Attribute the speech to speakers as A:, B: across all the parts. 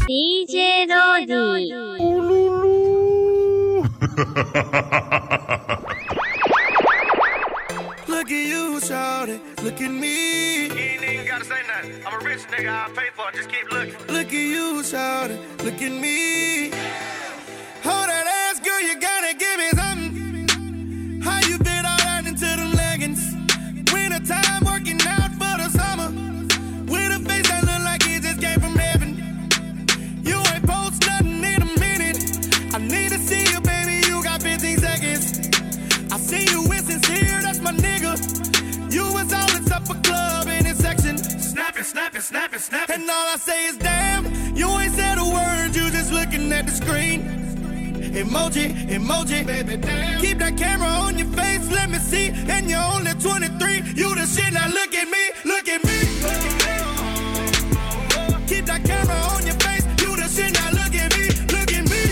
A: DJ ローディ
B: Look at you, shawty, look at me.
C: You ain't even gotta say nothing. I'm a rich nigga, I'll pay for it, just keep looking.
B: Look at you, shawty, look at me. Hold that ass, girl, you gotta give me something. How you fit all that into them leggings? Winter time working out for the summer. With a face that look like it just came from heaven. You ain't post nothing in a minute. I need to see you, baby, you got 15 seconds. I see you with sincere, that's my nigga. You was all in supper club in this section.
C: Snap it, snap it, snap it, snap it.
B: And all I say is damn, you ain't said a word, you just looking at the screen. Emoji, emoji, baby, damn. Keep that camera on your face, let me see. And you're only 23, you the shit, now look at me, look at me. Keep that camera on your face, you the shit, now look at me, look at me.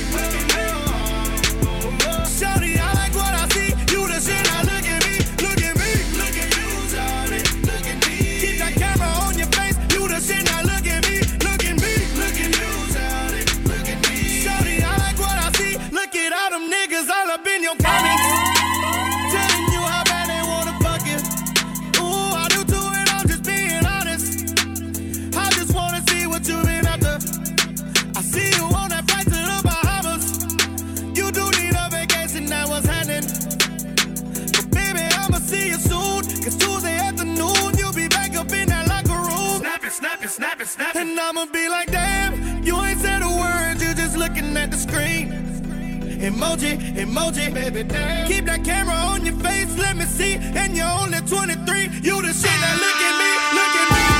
B: Shawty, I like what I see, you the shit, now look at me, look at me. Look at you, shawty, look at me. Keep that camera on your face, you the shit, now look at me, look at me. Look at you, shawty, look at me. Shawty, I like what I see, look at all them niggas all up in your comments. Telling you how bad they wanna fuck you. Ooh, I do too, and I'm just being honest. I just wanna see what you been after. I see you on that flight to the Bahamas. You do need a vacation, now what's happening? But baby, I'ma see you soon. Cause Tuesday afternoon, you'll be back up in that locker room.
C: Snap it, snap it, snap it, snap it.
B: And I'ma be like, damn, you ain't said a word, you just looking at the screen. Emoji, emoji, baby, damn. Keep that camera on your face, let me see. And you're only 23, you the shit, now look at me, look at me.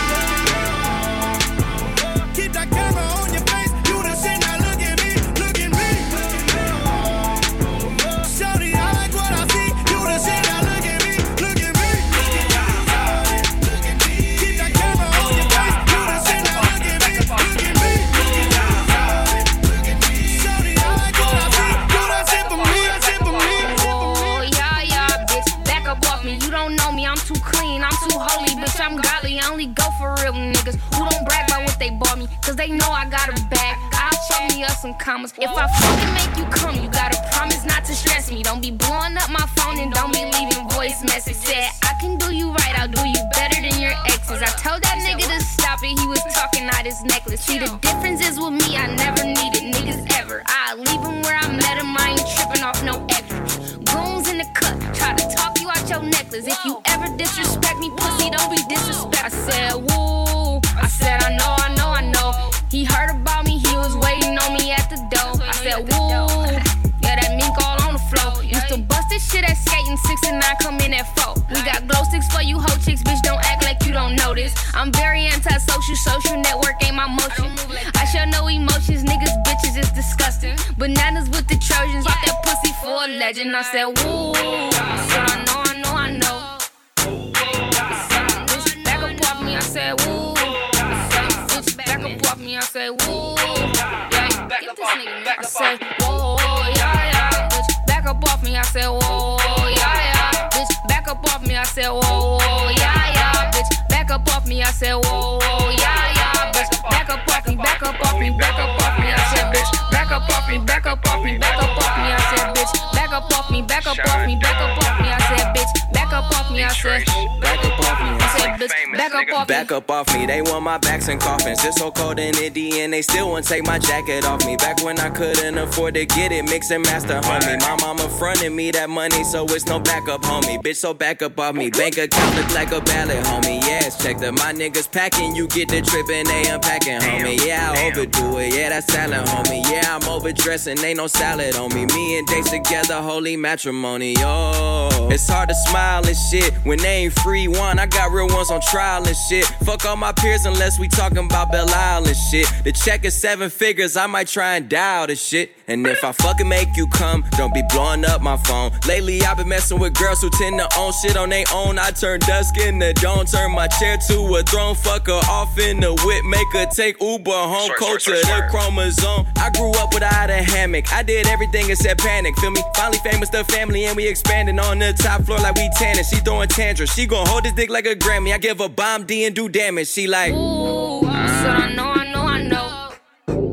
B: Keep that camera on your face, you the shit, now look at me, look at me. Shawty, I like what I see, you the shit, now look at me, look at me. Keep that camera on your face, you the shit, now look at me, look at me. Shawty, I like what I see, do that shit for me, that shit for me.
D: Oh, yeah, bitch, back up off me. You don't know me, I'm too clean, I'm too holy, bitch, I'm godly. I only go for real niggas who don't brag about what they bought me, cause they know I got a bag. I'll show me up some commas. If I fucking make you come, you gotta promise not to stress me. Don't be blowing up my phone and don't be leaving voice message. Said, I can do you right, I'll do you better than your exes. I told that nigga to stop it, he was talking out his necklace. See, the difference is with me, I never needed niggas ever. I leave him where I met him, I ain't tripping off no extras. Goons in the cut, try to talk you out your necklace. If you ever disrespect me, pussy, don't be disrespect. I said, woo, I said, I know. He heard about me, he was waiting on me at the door. I said, woo, yeah, that mink all on the floor. Used to bust this shit at skating, 6 and 9, come in at 4. We got glow sticks for you hoe chicks, bitch, don't act like you don't know this. I'm very antisocial, social network ain't my motion. I show no emotions, niggas, bitches, it's disgusting. Bananas with the Trojans, pop that pussy for a legend. I said, woo, I said, I know. Back up off me, I said, woo. Back up off me, I said, woo. Yeah, get this nigga. I said, whoa, yeah, bitch. Back up off me, I said, whoa, yeah, bitch. Back up off me, I said, whoa, yeah, bitch. Back up off me, I said, whoa, yeah, bitch. Back up off me, back up off me, back up off me, I said, bitch. Back up off me, back up off me, back up off me, I said, bitch. Back up off me, back up off me, back up off me, I said, bitch. Back up off me, I said, back up off me, I said, bitch. Back up off me.
E: Back up off me, they want my backs and coffins. It's so cold in Indy and they still won't take my jacket off me. Back when I couldn't afford to get it, mix and master, homie. My mama fronted me that money, so it's no backup, homie. Bitch, so back up off me. Bank account look like a ballot, homie. Yes, check that my niggas packing. You get the trip and they unpacking, homie. Yeah, I overdo it. Yeah, that's salad, homie. Yeah, I'm overdressing. Ain't no salad on me. Me and Dates together, holy matrimony. Oh, it's hard to smile and shit when they ain't free one. I got real ones on trial and shit. Fuck all my peers unless we talking about Belle Isle and shit. The check is 7 figures, I might try and dial this shit. And if I fucking make you come, don't be blowing up my phone. Lately I've been messing with girls who tend to own shit on their own. I turn dusk into dawn, turn my chair to a throne. Fuck her off in the whip, make her take Uber home. Cold to the chromosome. I grew up without a hammock, I did everything except panic, feel me? Finally famous, the family, and we expanding on the top floor like we tanning. She throwing tantrums, she gon' hold this dick like a Grammy. I give her bomb D and do damage, she like,
D: ooh, I said I know.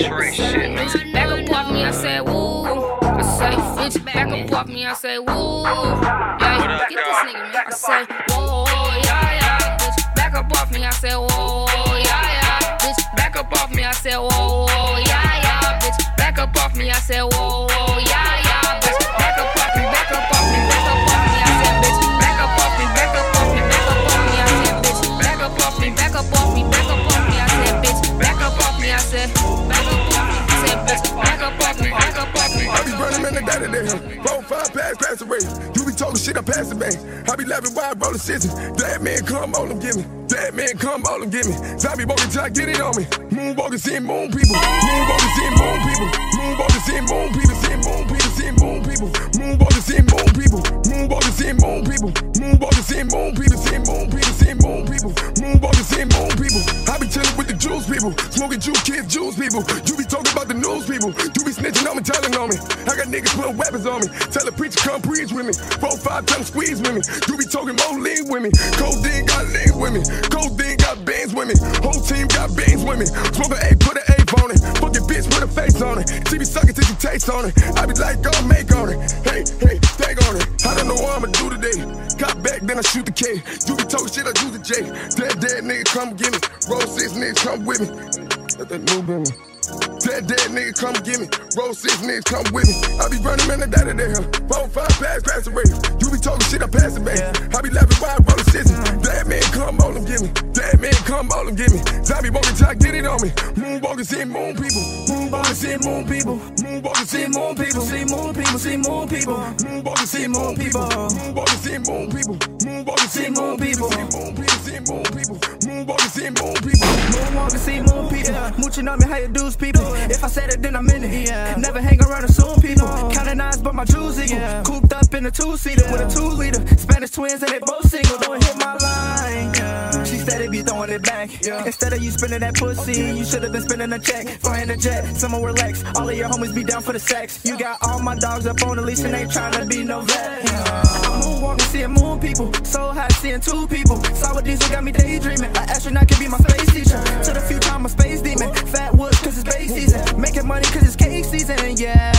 C: X-ray shit.
D: Bitch, back up off me, I said, woo. I say, bitch, back up off me, I say, woo. Yeah, get this nigga, man. I say, whoa, yeah, yeah. Bitch, back up off me, I say, whoa, yeah, yeah. Bitch, back up off me, I say, whoa, yeah, yeah. Bitch, back up off me, I say, whoa, yeah, yeah. Bitch, back up off me, back up off me, back up off me, I said, bitch, back up off me, back up off me, back up off me, I said, bitch, back up off me, back up off me, back up off me, I said, bitch, back up off me, I said, back up off me, I said, bitch, back up off me, back up off me.
F: I be running in the day to day, 4, 5 pass the race. You be talking shit, I pass the bank. I be laughing wide, rollin' scissors. That man come on them, give me. That man come on them, give me. Zombie walking, try get it on me. Moonwalking, seeing moon people. Moonwalking, seeing moon people. Moonwalking, seeing moon people. Seeing moon people. Seeing moon people. Moonwalking, seeing moon people. Moonwalking, seeing moon people. Moonwalking, seeing moon people. Seeing moon people. Seeing moon people. Moonwalking, seeing moon people. I be chillin' with the juice people. Smoking juice kids, juice people. You be talking about the news people. You be snitching on me, telling on me. I got niggas putting weapons on me. Tell a preacher come preach with me. 4, 5 times squeeze with me. You be talking more lean with me. Codeine got lean with me. Codeine got bands with me. Whole team got bands with me. Smoke a A, put an A on it. Fuck your bitch, put a face on it. She be sucking till you taste on it. I be like, go make on it. Hey, think on it. I don't know what I'ma do today. Got back, then I shoot the K. You be talking shit, I do the J. Dead nigga, come get me. Roll 6 niggas, come with me. Let that move in me. Dead nigga, come get me. Roll 6 niggas, come with me. I be running man the day to day, 4, 5 pass the race. You be talking shit, I pass it back. I be laughing wide, rollin' scissors. That man come on them, give me. That man come on them, give me. Zombie walking, try get it on me. Moonwalking, seeing moon people. Moonwalking, seeing moon people. Moonwalking, seeing moon people. See moon people, see moon people. Moonwalking, seeing moon people. Moonwalking, seeing moon people. Moonwalking, seeing moon people. See moon people, seeing moon people. Moonwalking, seeing moon people.
G: Moonwalking, seeing moon people. Mooching on me, how you do's people. If I said it, then I meant it. Never hang around assume people. Counting eyes, but my jewels equal. Cooped up in a 2-seater with a 2-liter. Spanish twins and they both single. Don't hit my line. She said it be throwing it back. Instead of you spending that pussy, you should have been spending a check. Flying a jet, someone relax. All of your homies be down for the sex. You got all my dogs up on the leash and ain't trying to be no vet. I'm moonwalking, seeing moon people. So high, seeing 2 people. Saw what diesel got me daydreaming. An astronaut could be my space teacher. To the future, I'm a space demon. Fat woods, cause it's base season. Making money cause it's cake season, yeah.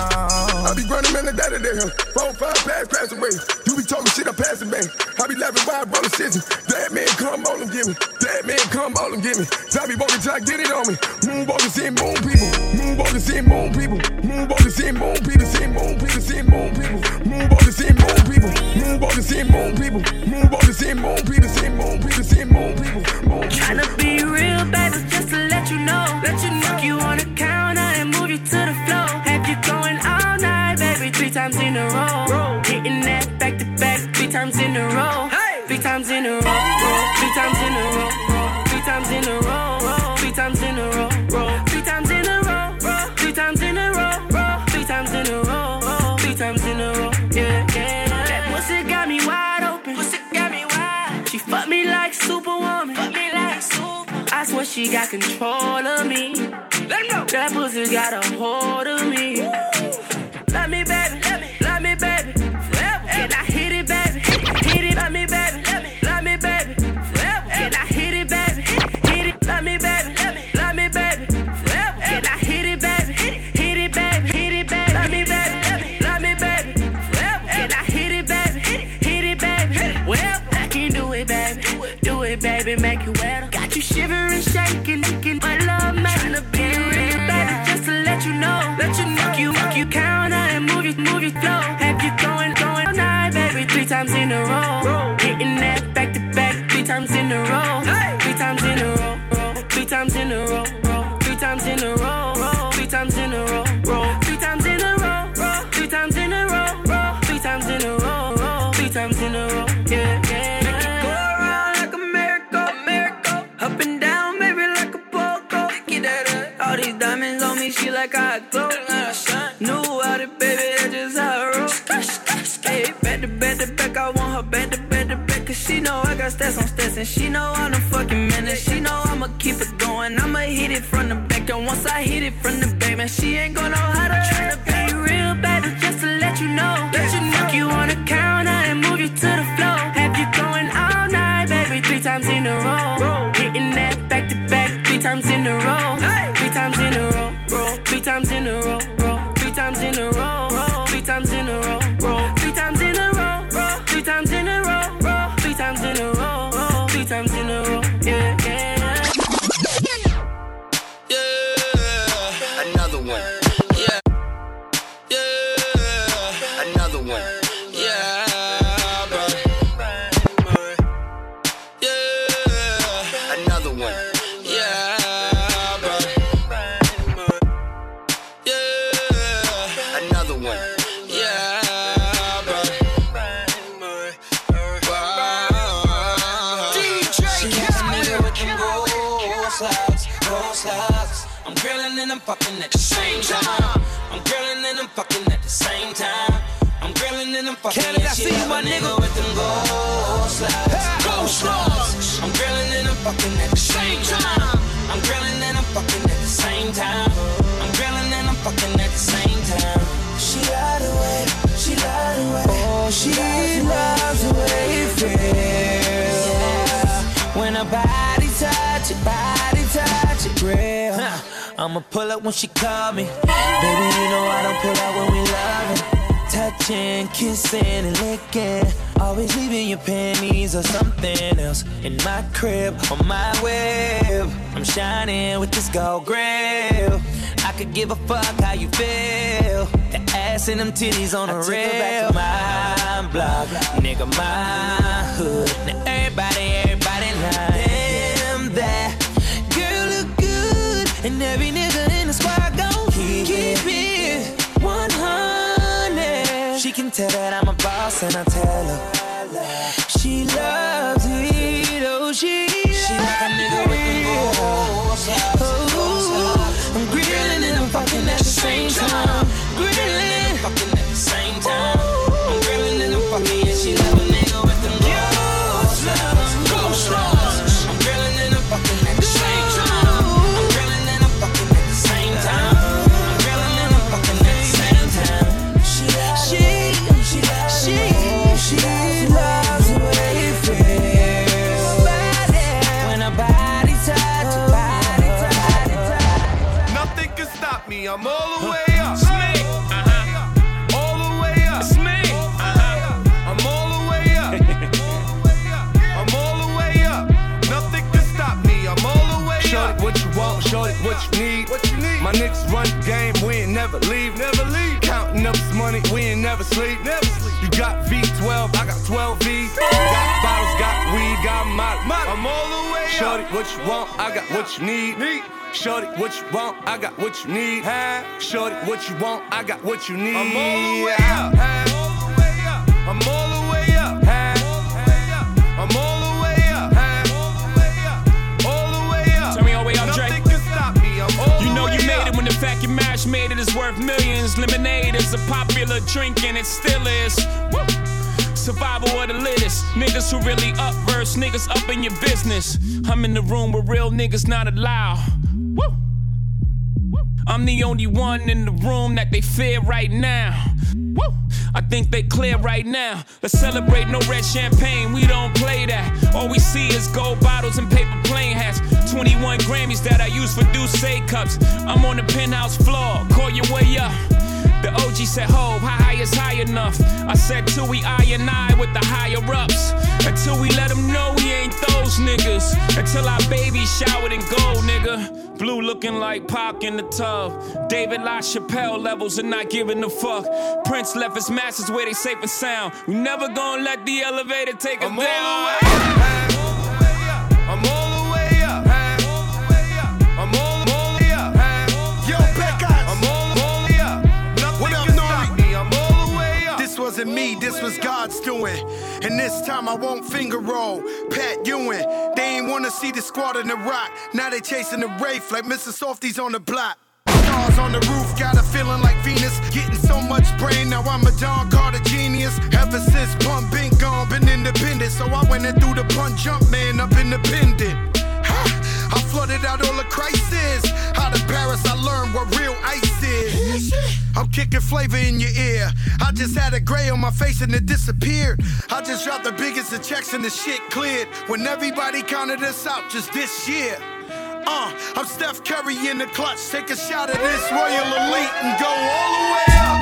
F: I be running man the day to day, 4, 5 pass the race. You be talking shit, I pass it back. I be laughing wide, rollin' scissors. That man come on them, give me. That man come on them, give me. Zombie walking, try get it on me. Moonwalking, seeing moon people. Moonwalking, seeing moon people. Moonwalking, seeing moon people. Seeing moon people, seeing moon people. Moonwalking, seeing moon people. Moonwalking, seeing moon people. Moonwalking, seeing moon people. Seeing moon people, seeing moon people.
H: Tryna be real, baby, just to let you know. Fuck you on the counter and move you to the floor. Have you going all night, baby, 3 times in a row. Hitting that back to back, 3 times in a row. 3 times in a row, 3 times in a row. 3 times in a row, 3 times in a row. 3 times in a row, 3 times in a row. 3 times in a row, 3 times in a row. Yeah. That pussy got me wide open. She fucked me like Superwoman. I swear she got control of me. That pussy got a hold of me. Love me, baby. Love me, baby. Forever. Can I hit it, baby? Hit it. Love me, baby. Love me, baby. Forever. Can I hit it, baby? Hit it. Love me, baby. Love me, baby. Forever. Can I hit it, baby? Hit it, baby. Hit it, baby. Love me, baby. Love me, baby. Forever. Can I hit it, baby? Hit it, baby. Well, I can do it, baby. Do it, baby. Make it wetter. Got you shivering, shaking, my love, man. Tryna be real, baby, just to let you know. Fuck you counter and move your flow. Have you going all night, baby, 3 times in a row. Hitting that back to back, 3 times in a row. 3 times in a row, 3 times in a row. 3 times in a row, 3 times in a row. 3 times in a row, 3 times in a row. 3 times in a row, 3 times in a row. Yeah. Make it go around like a miracle. Up and down, baby, like a pogo. All these diamonds on me, she like I glow. New out it, baby, that's just how I roll. Hey, back to back, I want her back to back. Cause she know I got stats on stats. And she know I'm the fucking man. And she know I'ma keep it going. I'ma hit it from the back. And once I hit it from the back, man, she ain't gonna know how to try to be real, baby, just to let you know. Fuck you on the counter and move you to the floor. Have you going all night, baby, 3 times in a row. Hitting that back to back, 3 times in a row. 3 times in a row.
E: one. Yeah. Yeah. Another one. Yeah, bro. Yeah. Another one. Yeah, bro. Yeah. Another one. Yeah, bro. She got a nigga with them gold slides. I'm grilling and I'm fucking at the same time. I'm grilling and I'm fucking at the same time. I'm grilling and I'm fucking. Canada, I see you, my nigga, with them gold slides. Gold slides. I'm grilling and I'm fucking at the same time. I'm grilling and I'm fucking at the same time. I'm grilling and I'm fucking at the same time. She lied away. She lied away. Oh, she loves the way it feels. When her body touch it, real. I'ma pull up when she call me. Baby, you know I don't pull out when we loving. Touching, kissing, and licking. Always leaving your panties or something else in my crib, on my web. I'm shining with this gold grill. I could give a fuck how you feel. The ass and them titties on the rail. My block, nigga, my hood. Now everybody lying. Damn, that girl look good. And every nigga in the squad gon' keep it 100. She can tell that I'm a boss and I tell her she loves it. Oh, she like a nigga with them gold slides. I'm grilling and I'm fucking at the same time. Grilling, fucking at the same time. I'm grilling and I'm fucking, and she love a nigga with them gold slides. Gold slides. I'm grilling and I'm fucking at the same time. I'm grilling and I'm fucking at the same time. I'm grilling and I'm fucking at the same time. She loves the way it feels. When her body touch,
B: Nothing can stop me. I'm all the way up.
I: It's me.
B: All the way up.
I: It's me.
B: I'm all the way up. I'm all the way up. Nothing can stop me. I'm all the way up.
J: Shorty, what you want? Shorty, what you need? My niggas run the game, we ain't never leave. Counting up this money, we ain't never sleep. You got V12, I got 12 V's. Got bottles, got weed, got molly.
B: I'm all the way up.
J: Shorty, what you want? I got what you need. Shorty, what you want? I got what you need. Shorty, what you want? I got what you need.
B: I'm all the way up. I'm all the way up. I'm all the way up. All the way up.
I: Turn me all the way up, Dre.
B: Nothing can stop me. I'm all
I: You know
B: the way
I: you made
B: up.
I: it when the vacuum mash made it is worth millions. Lemonade is a popular drink and it still is. Woo. Survival of the littest. Niggas who really up verse, niggas up in your business. I'm in the room where real niggas not allowed. Woo. I'm the only one in the room that they fear right now. Woo. I think they clear right now. Let's celebrate, no red champagne, we don't play that. All we see is gold bottles and paper plane hats. 21 Grammys that I use for Douce cups. I'm on the penthouse floor, call your way up. The OG said, "Ho, how high is high enough?" I said, "Till we I and I with the higher ups. Until we let them know we ain't those niggas. Until our baby showered in gold, nigga. Blue looking like Pac in the tub. David LaChapelle levels and not giving a fuck. Prince left his masters where they safe and sound. We never gonna let the elevator take us down.
B: I'm all the way up. I'm all the way up.
K: Yo, Pecos.
B: I'm all the way up.
K: What up,
B: Nothing can stop me. I'm all the way up.
K: This wasn't me, this was God's doing. And this time I won't finger roll. Pat Ewing, they ain't wanna see the squad in the rock. Now they chasing the Wraith like Mr. Softy's on the block. Stars on the roof, got a feeling like Venus. Getting so much brain, now I'm a John Carter genius. Ever since Pump been gone, been independent. So I went and threw the punch jump man up independent. I flooded out all the crisis. Out of Paris, I learned what real ice is. I'm kicking flavor in your ear. I just had a gray on my face and it disappeared. I just dropped the biggest of checks and the shit cleared. When everybody counted us out just this year. I'm Steph Curry in the clutch. Take a shot at this Royal Elite and go all the way up.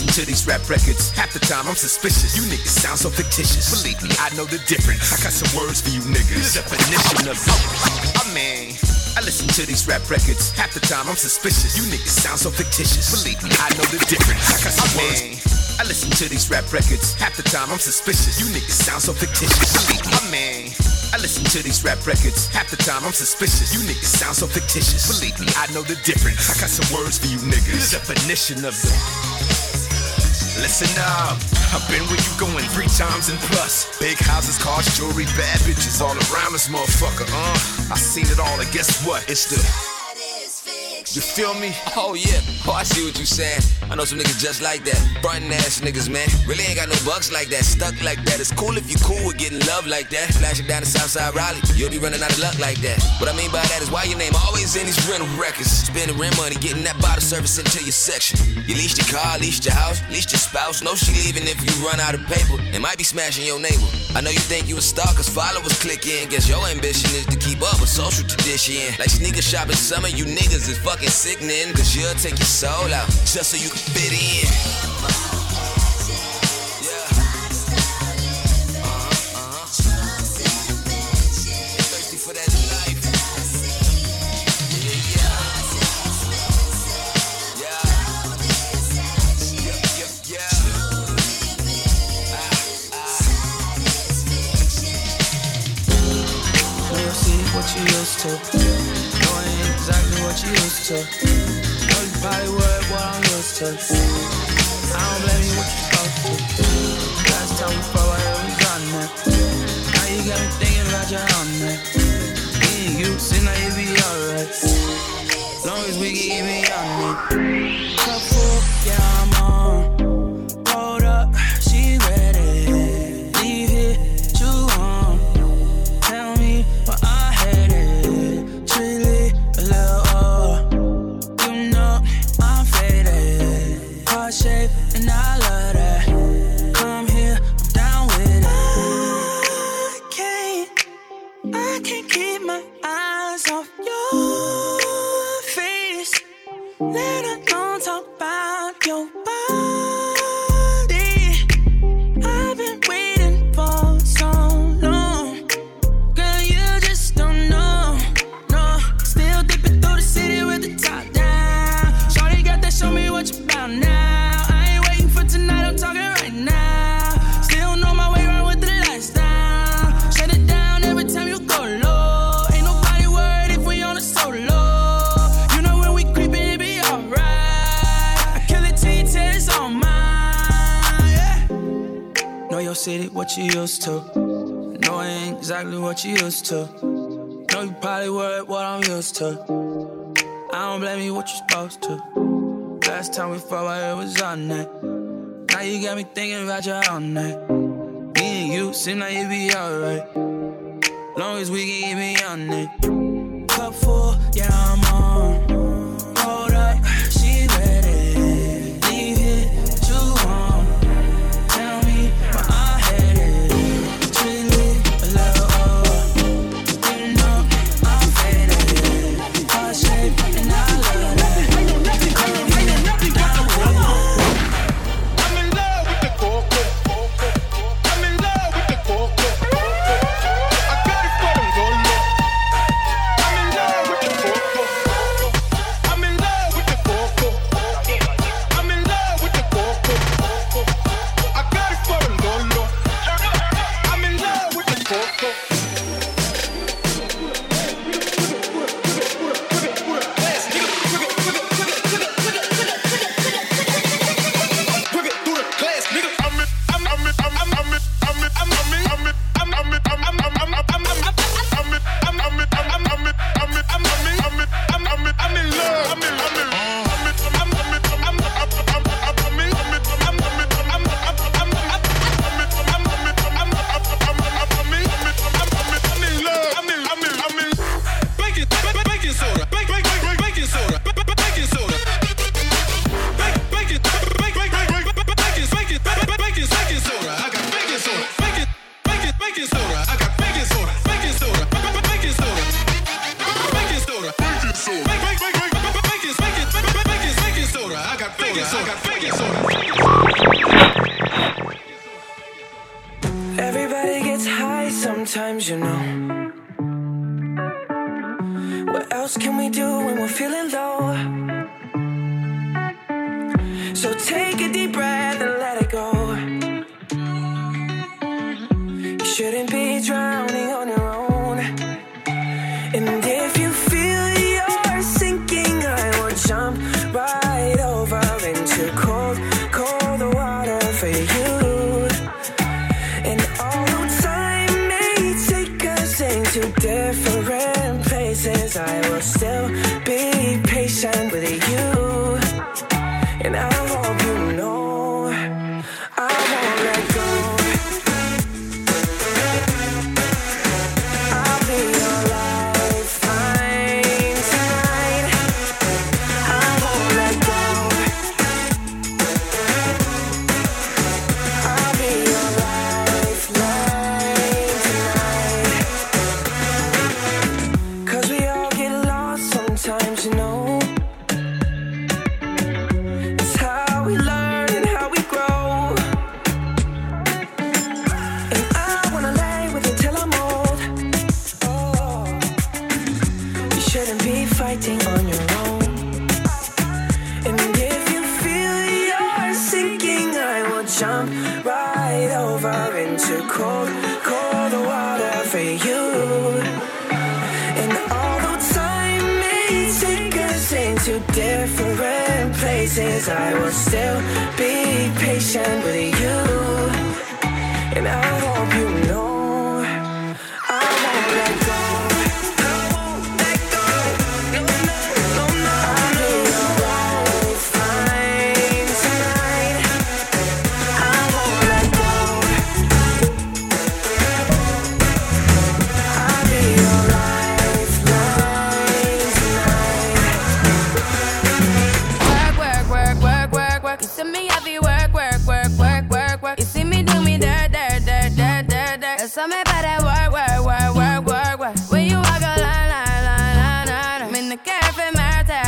L: listen to these rap records, half the time I'm suspicious. You niggas sound so fictitious. Believe me, I know the difference. I got some words for you niggas. The definition of I listen to these rap records, half the time I'm suspicious. You niggas sound so fictitious. Believe me, I know the difference. I got some words. I listen to these rap records, half the time I'm suspicious. You niggas sound so fictitious. Believe me, I listen to these rap records, half the time I'm suspicious. You niggas sound so fictitious. Believe me, I know the difference. I got some words for you niggas. The definition of the. Listen up, I've been where you going 3 times and plus. Big houses, cars, jewelry, bad bitches all around this motherfucker. I seen it all, and guess what? It's the. You feel me?
M: Oh yeah, I see what you saying. I know some niggas just like that. Frontin' ass niggas, man. Really ain't got no bucks like that, stuck like that. It's cool if you cool with getting love like that. Flashing down the Southside Raleigh, you'll be running out of luck like that. What I mean by that is why your name always in these rental records. Spending rent money, getting that bottle service into your section. You leased your car, leased your house, leased your spouse. No, she leaving if you run out of paper. It might be smashing your neighbor. I know you think you a star cause followers click in. Guess your ambition is to keep up with social tradition. Like sneaker shopping summer, you niggas is fucking sickening. Cause you'll take your soul out just so you can fit in. Thirsty for that life.
G: You'll see what you used to. Knowing exactly what you used to. Probably what I'm used to. I don't blame you what you're supposed to. Last time we fought, I was on that. Now you got me thinking about your own neck. Me and you, seem like you be alright. Long as we can keep me on it. Cup full, yeah, I'm on. Hold up, she ready. Leave it, chew on. Tell me what I hated. Truly, a little shape, and I love that. Come here, I'm down with it. I can't keep my eyes off your face. Let alone talk about your body. I've been waiting for so long. Girl, you just don't know. No, still dipping through the city with the top down. Shawty got that, show me what you about now. Your city, what you used to. Knowing exactly what you used to. Know you probably worried what I'm used to. I don't blame you what you're supposed to. Last time we fought, I was on that. Now you got me thinking about your own night. Me and you seem like you be alright. Long as we can keep me on it. Cup full, yeah, I'm on. Hold up, she ready. Leave it, chew on. Tell me what I hated. Truly, a little you know I'm faded. Heart shape, and I love that.
B: I'm in love with the coco. I'm in love with the coco. I got it for them Lolo. I'm in love with the coco.
N: Everybody gets high sometimes, you know. What else can we do when we're feeling low? So take a deep breath and let it go. You shouldn't be drowning on your own. And if you feel you're sinking, I will jump right over into cold, cold water for you. And although time may take us into different places, I will still be patient with you. And I hope you know I won't let go. I'll be your lifeline tonight. I won't let go. I'll be your lifeline tonight. 'Cause we all get lost sometimes, you know. We learn and how we grow. And I wanna lay with you till I'm old. Oh, you shouldn't be fighting on your own. And if you feel you're sinking, I will jump right over into cold, cold water for you. And although time may take us into different places, I will still be patient with you. And I hope you know I won't let go. I won't let go. No, no, no, no. I'll be your lifeline tonight. I won't let go. I'll be your lifeline tonight.
D: You see me heavy work. You see me do me dirt. Tell me about that work. When you walk a line. I'm in the cafe, my ta.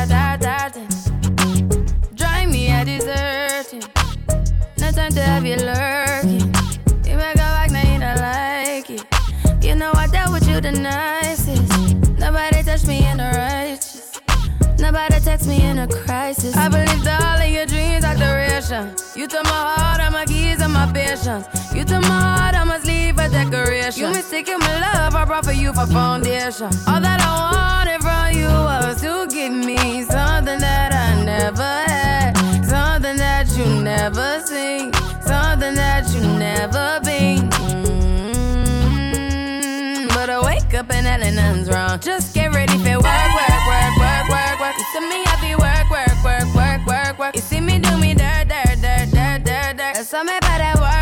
D: Drive me a dessert. No time to have you lurking. You make a walk, now you don't like it. You know I dealt with you the nicest. Nobody touched me in the righteous. Nobody text me in a crisis. I believed all of your dreams are duration. You took my heart, all my keys, and my patience. You took my heart, I must leave a decoration. You mistaken my love, I brought for you for foundation. All that I wanted from you was to give me something that I never had, something that you never seen, something that you never been. But I wake up and nothing's wrong. Just get ready for work. You see me happy work. You see me do me dirt. Tell me about that work.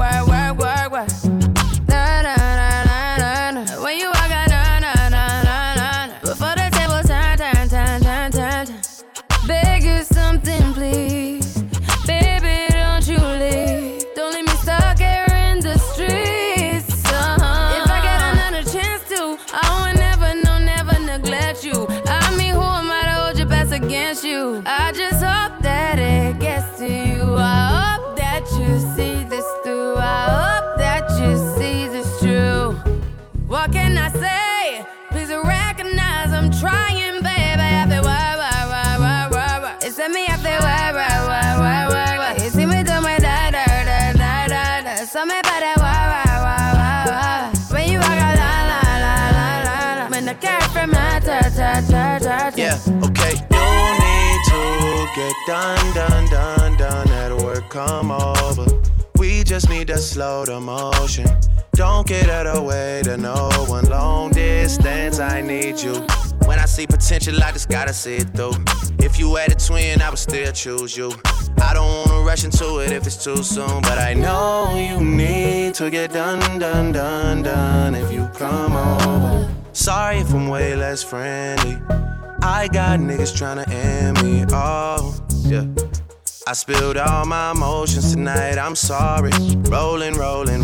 D: When you walk out, before the table turn. Beg you something, please. Baby, don't you leave. Don't leave me stuck here in the streets. If I get another chance to, I would never neglect you. I mean, who am I to hold your best against you? I just hope that it gets to you. I hope that you see this through. I hope that you see this true. What can I say? Please recognize I'm trying, baby. I feel work. It's me, I feel work. You see me do my da. So me about that work. When you walk out, la. When the cat from my ta.
O: Yeah, okay. You need to get done. That'll work, come over. We just need to slow the motion. Don't get out of the way to no one. Long distance, I need you. When I see potential, I just gotta see it through. If you had a twin, I would still choose you. I don't wanna rush into it if it's too soon, but I know you need to get done if you come over. Sorry if I'm way less friendly. I got niggas tryna end me, oh, yeah. I spilled all my emotions tonight, I'm sorry. Rolling.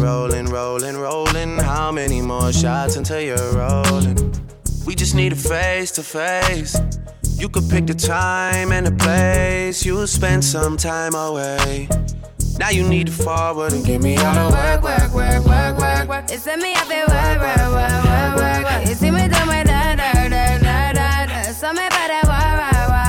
O: How many more shots until you're rolling? We just need a face to face. You could pick the time and the place. You'll spend some time away. Now you need to forward and give me all the work.
D: You send me up there, work. You see me do my da. So me better work.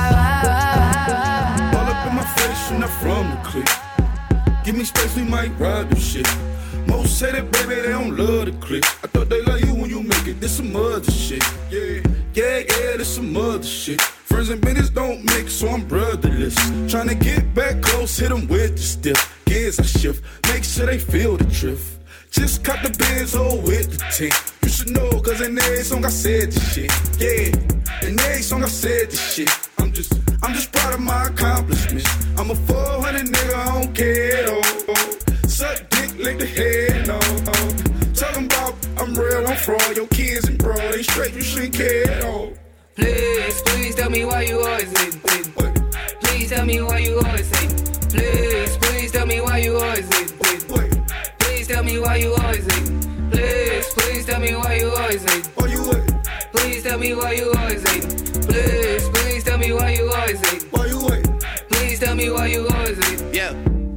P: All up in my face and I'm from the clique. Give me space, we might ride this shit. Most say that, baby, they don't love the clique. I thought they love you when you make it. This some other shit. Yeah, this some other shit. Friends and business don't mix, so I'm brotherless. Tryna get back close, hit them with the stiff. Gears I shift, make sure they feel the drift. Just cut the Benz with the tint. You should know, cause in every song I said this shit. Yeah, in every song I said this shit. I'm just proud of my accomplishments. I'm a 400 nigga, I don't care at all. Suck dick, lick the head, no. Talking about I'm real, I'm fraud. Your kids and bro, they straight, you shouldn't care at all.
H: Please tell me why you always hate. Please tell me why you always hate. Please tell me why you always hate. Please tell me why you always hate. Please tell me why you always hate. Please tell me why you always hate. Please tell me why you always hate. Please tell me why you always hate.
O: Yeah,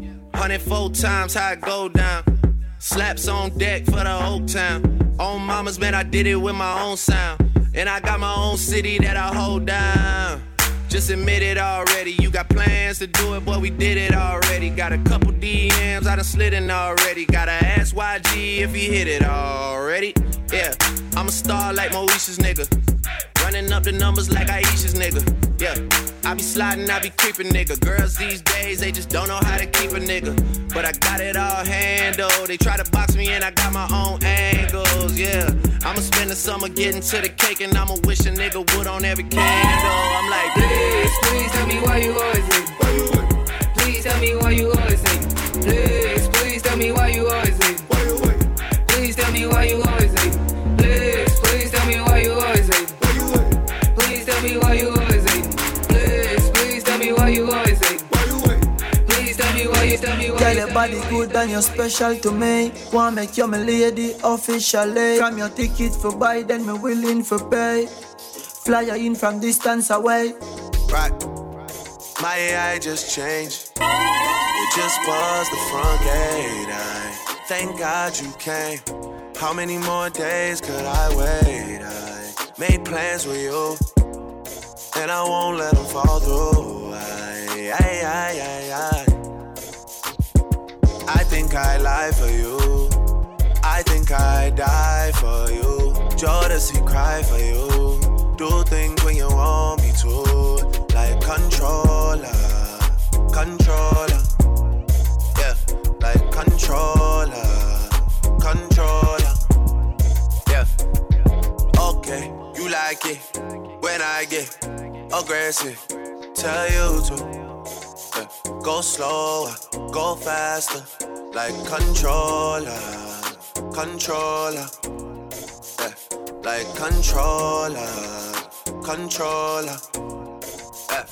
O: 104 times how it go down. Slaps on deck for the whole town. On mamas, man, I did it with my own sound. And I got my own city that I hold down. Just admit it already. You got plans to do it, boy, we did it already. Got a couple DMs, I done slid in already. Gotta ask YG if he hit it already. Yeah, I'm a star like Moesha's nigga. Running up the numbers like Aisha's nigga. Yeah, I be sliding, I be creeping nigga. Girls these days, they just don't know how to keep a nigga. But I got it all handled. They try to box me and I got my own angles, yeah. I'ma spend the summer getting to the cake and I'ma wish a nigga would on every candle. I'm like,
H: please tell me why you always hate. Please tell me why you always hate. Please tell me why you always hate. Please tell me why you always hate. Please tell me why you always hate. Please tell me why you always hate. Please tell me why you always hate. Please tell me why you tell me why.
G: Girl, your body good and you're special to me. Wanna make you my lady officially. From your ticket for buy, then me willing for pay. Fly you in from distance away.
O: Right, my AI just changed. You just buzzed the front gate. Thank God you came. How many more days could I wait? I made plans with you, and I won't let them fall through. I think I lie for you. I think I die for you. Jodeci cry for you. Do things when you want me to. Like controller. Yeah, like controller. Yeah. Okay, you like it when I get aggressive. Tell you to go slower, go faster. Like controller. Yeah, like controller. Yeah.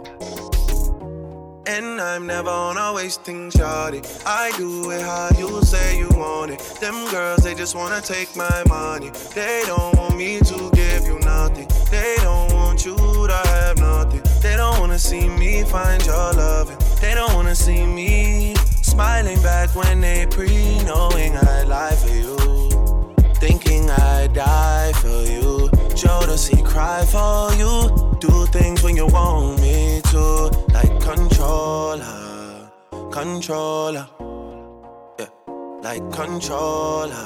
O: And I'm never on a wasting shawty. I do it how you say you want it. Them girls, they just wanna take my money. They don't want me to give you nothing. They don't want you to have nothing. They don't wanna see me find your loving. They don't wanna see me smiling back when they knowing I lie for you. Thinking I die for you. Jodeci cry for you. Do things when you want me to. Like controller. Yeah, like controller.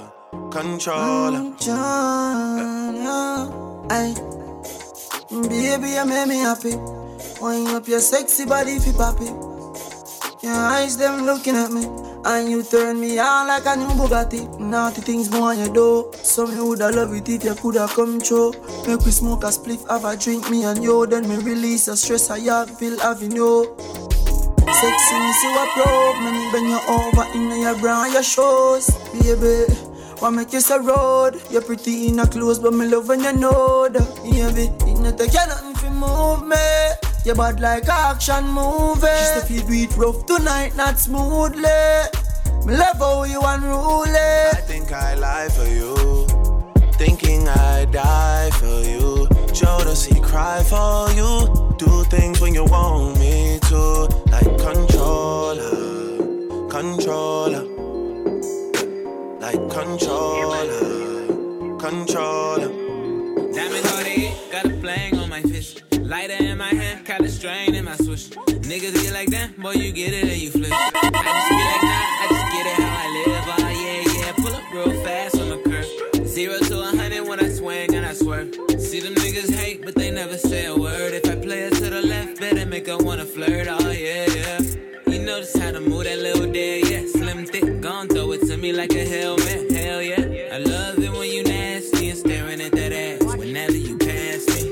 G: Ay, baby, you make me happy. Wind up your sexy body fi papi. Your eyes them looking at me, and you turn me on like a new Bugatti. Naughty things more you do, so me woulda love it if you coulda come true. Make we smoke a spliff, have a drink, me and you. Then me release the stress I have, feel having you. Sexy, me see what probe, me bend you over in your bra and your shoes, baby. Wanna make you so road, you're pretty in a clothes, but me love when you know that, baby. It not take you nothing to move me. You're bad like action movie. Just to feel it rough tonight, not smoothly. Me love how you unruly.
O: I think I lie for you. Thinking I die for you. Jodeci cry for you. Do things when you want me to. Like controller, controller. Like controller, controller.
E: Diamond hearted, got a bling on my fist. Lighter in my hand, got a strain in my switch. Niggas get like that, boy, you get it and you flip. I just be like, nah, I just get it how I live. Oh, yeah, pull up real fast on the curve. 0 to 100 when I swing and I swerve. See them niggas hate, but they never say a word. If I play it to the left, better make her wanna flirt. Oh, yeah. You know just how to move that little day, yeah. Slim, thick, gon' throw it to me like a helmet. Hell yeah. I love it when you nasty and staring at that ass whenever you pass me.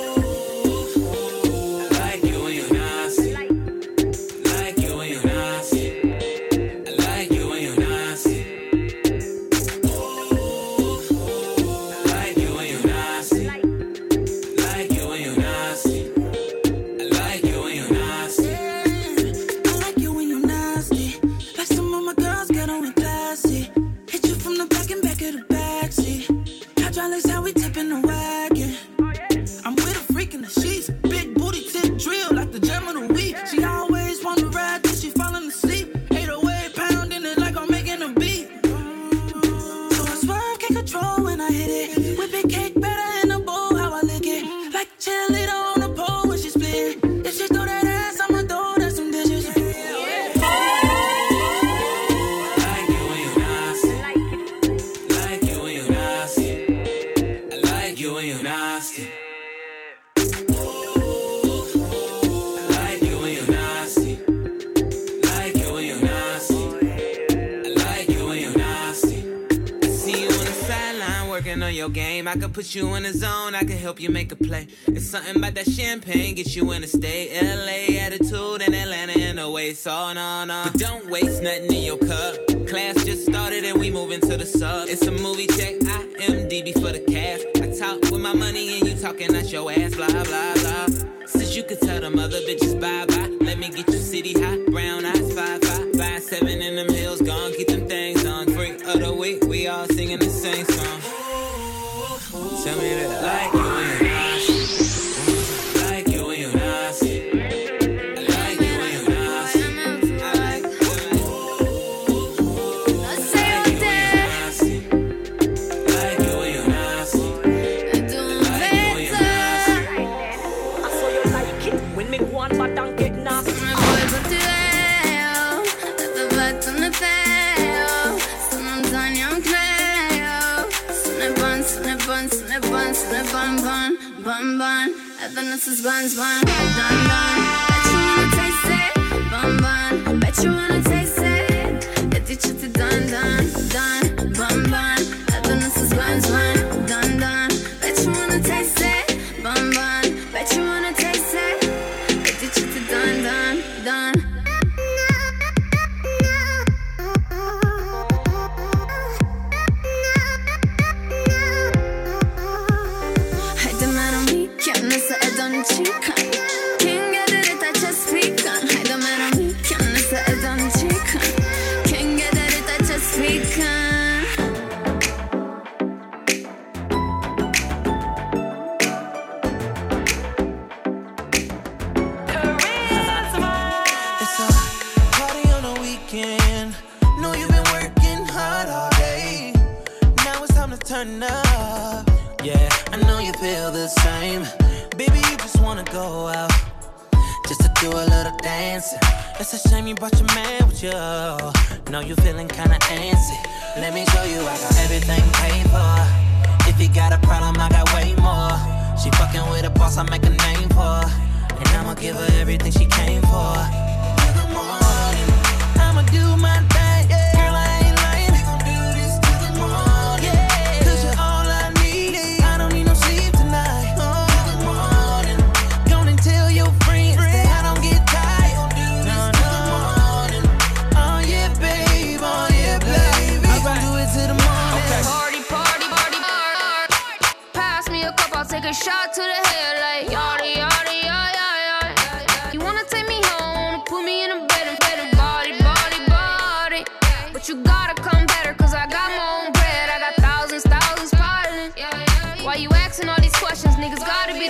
E: I could put you in the zone, I could help you make a play. It's something about that champagne, get you in a state. LA attitude and Atlanta in the way, so no. But don't waste nothing in your cup. Class just started and we moving to the sub. It's a movie check, IMDb for the cast. I talk with my money and you talking out your ass, blah, blah, blah. Since you could tell them other bitches bye-bye, let me get you city hot, brown eyes, 5'5", 5'7" in them hills, gone, keep them things on. Freak of the week, we all singing the same song. Tell me that like you when you're nasty. Like you when you're nasty. I like you when you're nasty. I like you when you're nasty. Like you when you're nasty. I saw you like it when me go on but don't get nasty. My boys up to hell. Let the vibes on the fail. Someone's on your clay. Snip bun, bun. Evidence is buns, bun. Dun, dun. Bet you wanna taste it. Bun, bun. Bet you wanna taste it. Get you to dun, dun, dun. Bun, bun. Evidence is buns, bun. Dun, dun. Bet you wanna taste it. Bun, bun. Bet you wanna taste it. Get you to dun, dun, dun.
O: Turn up, yeah, I know you feel the same. Baby, you just wanna go out, just to do a little dancing. It's a shame you brought your man with you. Know you feeling kinda antsy. Let me show you I got everything paid for. If you got a problem, I got way more. She fucking with a boss, I make a name for. And I'ma give her everything she came for. In the morning, I'ma do my thing, yeah. Girl, I ain't lying, we gon' do this till the morning, yeah.
D: Take a shot to the head like yada yada yada yada. You wanna take me home, put me in a bed and body, body, body. But you gotta come better, cause I got my own bread. I got thousands piling. Why you asking all these questions? Niggas gotta be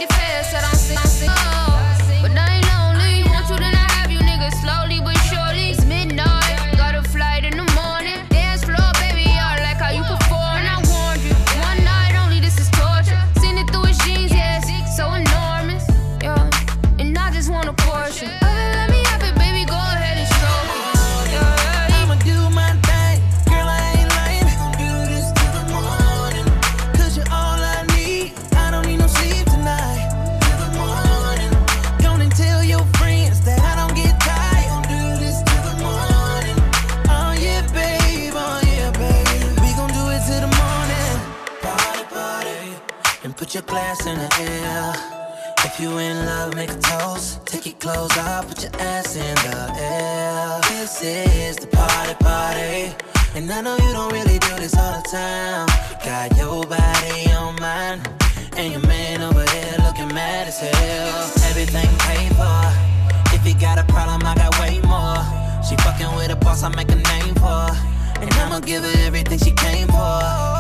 Q: put your glass in the air. If you in love, make a toast. Take your clothes off, put your ass in the air. This is the party, party. And I know you don't really do this all the time. Got your body on mine, and your man over here looking mad as hell. Everything paid for. If you got a problem, I got way more. She fucking with a boss, I make a name for. And I'ma give her everything she came for.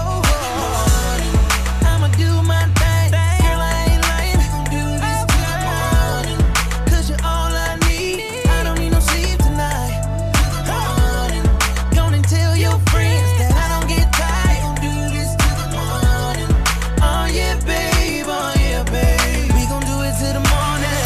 Q: I'ma do my thing. Girl, I ain't lying. We gon' do this till the morning. 'Cause you're all I need. I don't need no sleep tonight. Morning. Gonna tell your friends that I don't get tired. We gon' do this till the morning. Oh yeah, babe. Oh yeah, babe. We gon' do it till the morning.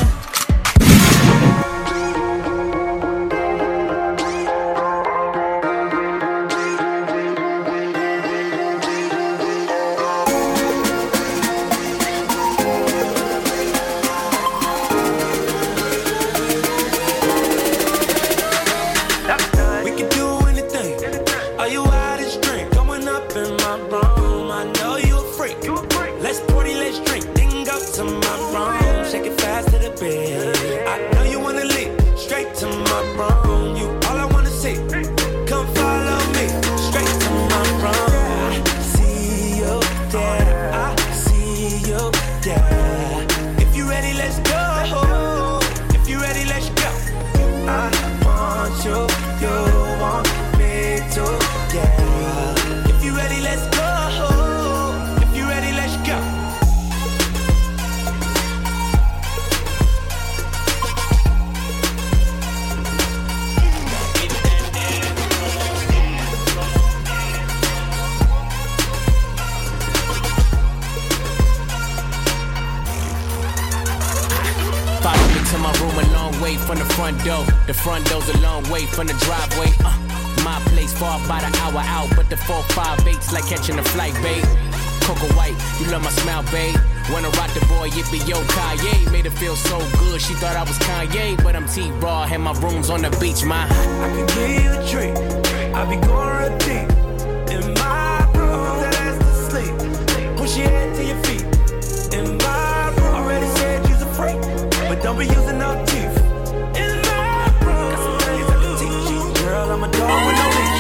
R: From the front door, the front door's a long way from the driveway. My place far by the hour out, but the 4-5-8's like catching a flight, babe. Coco White, you love my smile, babe. Wanna rock the boy, yippee yo, Kanye. Made her feel so good, she thought I was Kanye, but I'm T-Raw, had my rooms on the beach, my.
S: I can give you a treat, I be going real deep. In my room, that ass to sleep. Push your head to your feet. In my room, already said you's a freak, but don't be using no teeth. I'm a dog with no leash.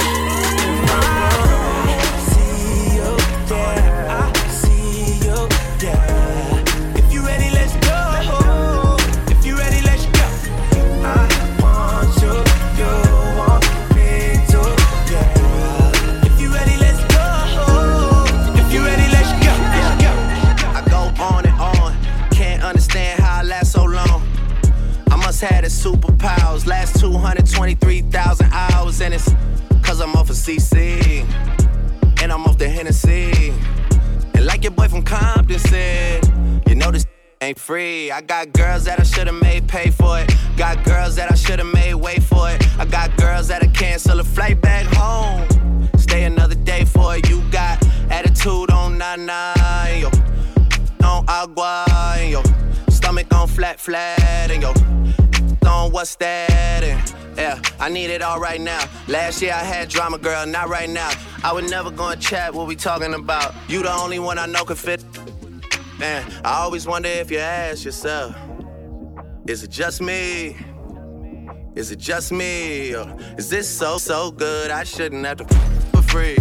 S: I see you, yeah. I see you, yeah. If you ready, let's go. If you ready, let's go. I want you, you want me to, yeah. If you ready, let's go. If you ready, let's go. Let's go.
O: I go on and on. Can't understand how I last so long. I must have the superpowers. Last 223,000 hours, and it's 'cause I'm off of CC and I'm off the Hennessy. And like your boy from Compton said, you know this ain't free. I got girls that I should've made pay for it. Got girls that I should've made wait for it. I got girls that'll cancel a flight back home. Stay another day for it. You got attitude on 99, yo. On agua, and yo. Stomach on flat, and yo. On what's that? And yeah, I need it all right now. Last year I had drama, girl, not right now. I would never go and chat what we talking about. You the only one I know could fit. Man, I always wonder if you ask yourself, is it just me? Is it just me? Or is this so good I shouldn't have to for free?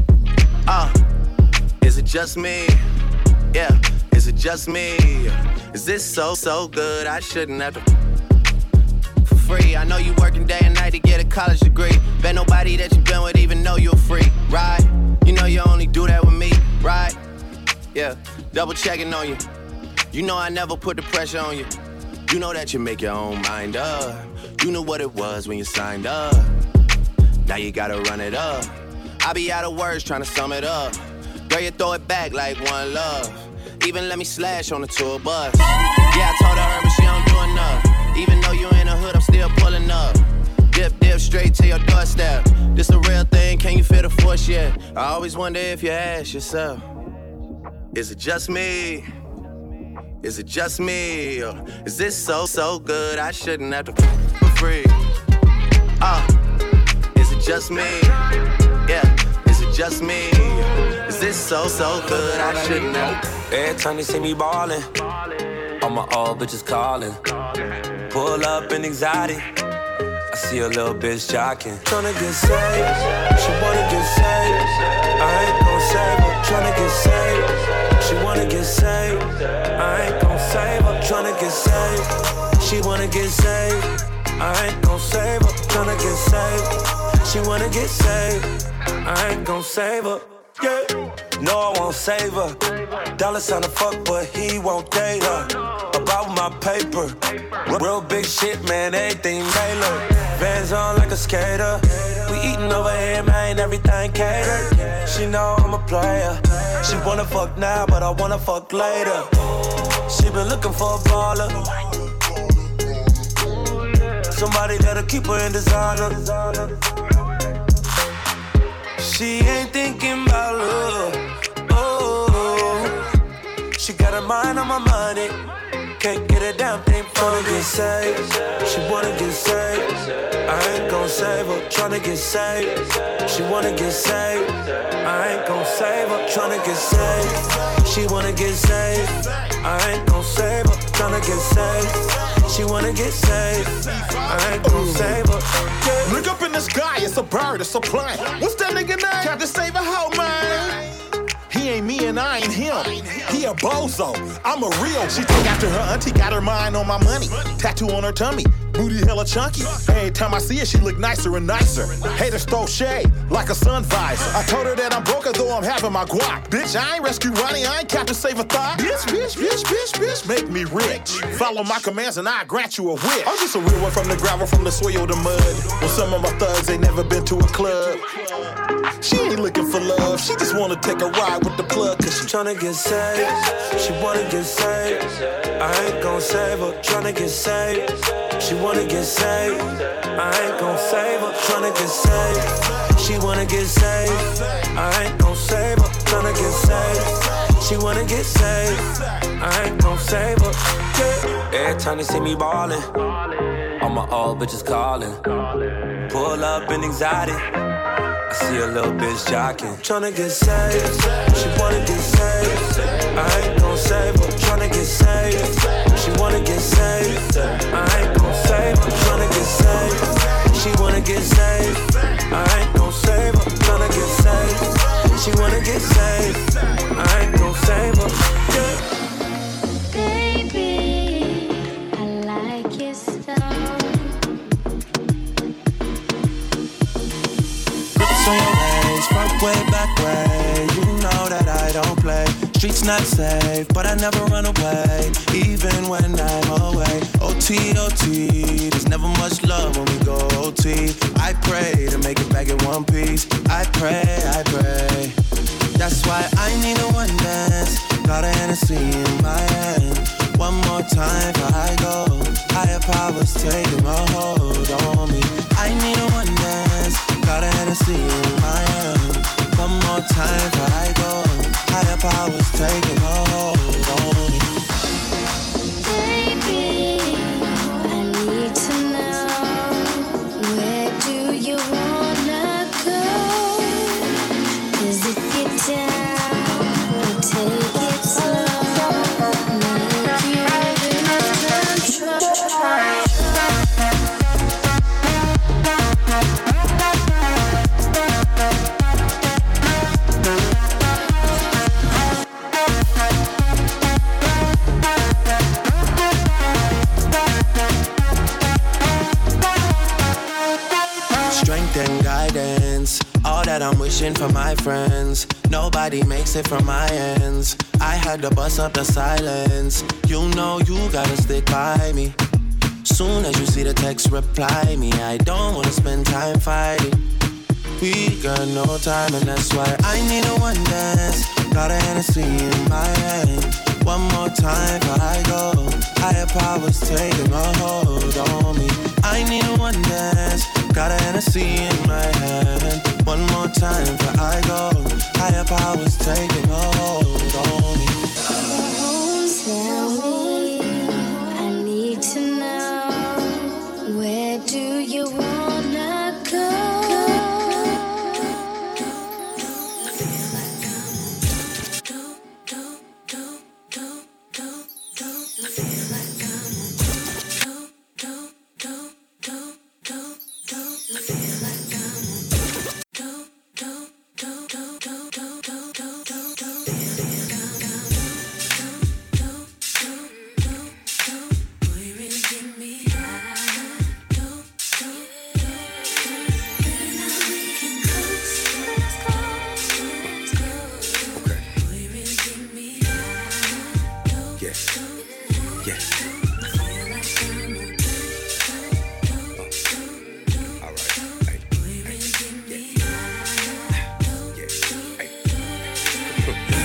O: Is it just me? Yeah, is it just me? Is this so good I shouldn't have to free. I know you working day and night to get a college degree. Bet nobody that you been with even know you're free, right? You know you only do that with me, right? Yeah, double checking on you. You know I never put the pressure on you. You know that you make your own mind up. You knew what it was when you signed up. Now you gotta run it up. I be out of words trying to sum it up. Girl, you throw it back like one love. Even let me slash on the tour bus. Yeah, I told her, but she don't do enough. Even though you in the hood, I'm still pulling up. Dip straight to your doorstep. This the real thing, can you feel the force yet? I always wonder if you ask yourself, is it just me? Is it just me? Or is this so good I shouldn't have to for free? Is it just me? Yeah, is it just me? Is this so good? I should know.
T: Every time they see me ballin', all my old bitches callin'. Pull up in anxiety, I see a little bitch jockin'. Tryna get saved, she wanna get saved. I ain't gon' save her, tryna get saved. She wanna get saved, I ain't gon' save her. Tryna get saved, she wanna get saved. I ain't gon' save her, tryna get saved. She wanna get saved, I ain't gon' save her. Yeah, no, I won't save her. Dollar sign to fuck, but he won't date her. About my paper, real big shit, man, everything tailored. Vans on like a skater. We eatin' over here, man, everything catered. She know I'm a player. She wanna fuck now, but I wanna fuck later. She been looking for a baller. Somebody that'll keep her in designer. She ain't thinking about love. Oh, she got her mind on my money. Can't get a damn thing from her. Get saved, she wanna get saved. I ain't gon' save her, tryna get saved. She wanna get saved, I ain't gon' save her, tryna get saved. She wanna get saved, I ain't gon' save her, tryna get saved. She wanna get saved, I ain't gon' save her. Yeah.
U: Look up in the sky, it's a bird, it's a plane. What's that nigga name? Captain Save a Hoe, man. He ain't me and I ain't him. He a bozo, I'm a real. She took after her auntie, got her mind on my money. Tattoo on her tummy, booty hella chunky. Every time I see her, she look nicer and nicer. Haters throw shade like a sun visor. I told her that I'm broke, though I'm having my guap. Bitch, I ain't rescue Ronnie, I ain't Captain Save a Thought. Bitch, make me rich. Follow my commands and I grant you a wish. I'm just a real one from the gravel, from the soil to mud. Well, some of my thugs ain't never been to a club. She ain't looking for love, she just wanna take a ride with the plug. Cause she
T: tryna get saved, she wanna get saved. I ain't gon' save her, tryna get saved. She wanna get saved, I ain't gon' save her, tryna get saved. She wanna get saved, I ain't gon' save her, tryna get saved. She wanna get saved, I ain't gon' save her. Yeah. Every time they see me ballin', all my old bitches callin'. Pull up in anxiety, I see a little bitch jockin'. Tryna get saved, she wanna get saved. I ain't gon' save her, tryna get saved. She wanna get saved, I ain't gon' save her, tryna get saved. She wanna get saved, I ain't gon' save her, tryna get saved. She wanna get saved, I ain't gon' save her. Yeah.
A: Baby, I like your style.
O: Grips on your ways, front way, back way. You know that I don't play. Streets not safe, but I never run away, even when I'm away. OT, OT, there's never much love when we go OT. I pray to make it back in one piece. I pray. That's why I need a one dance. Got a Hennessy in my hand. One more time before I go. Higher powers taking a hold on me. I need a one dance. Got a Hennessy in my hand. One more time before I go. Higher powers taking a hold on me.
A: Baby, I need to know, where do you wanna go? Is it get down or take it slow? Make you lose control.
O: Strength and guidance, all that I'm wishing for my friends. Nobody makes it from my ends. I had to bust up the silence. You know you gotta stick by me. Soon as you see the text, reply me. I don't wanna spend time fighting. We got no time and that's why I need a one dance. Got a Hennessy in my hand. One more time before I go. Higher powers taking a hold on me. I need a one dance. Got a Hennessy in my hand. One more time before I go. Higher powers taking a hold on me.
A: Tell me, I need to know, where do you wanna go?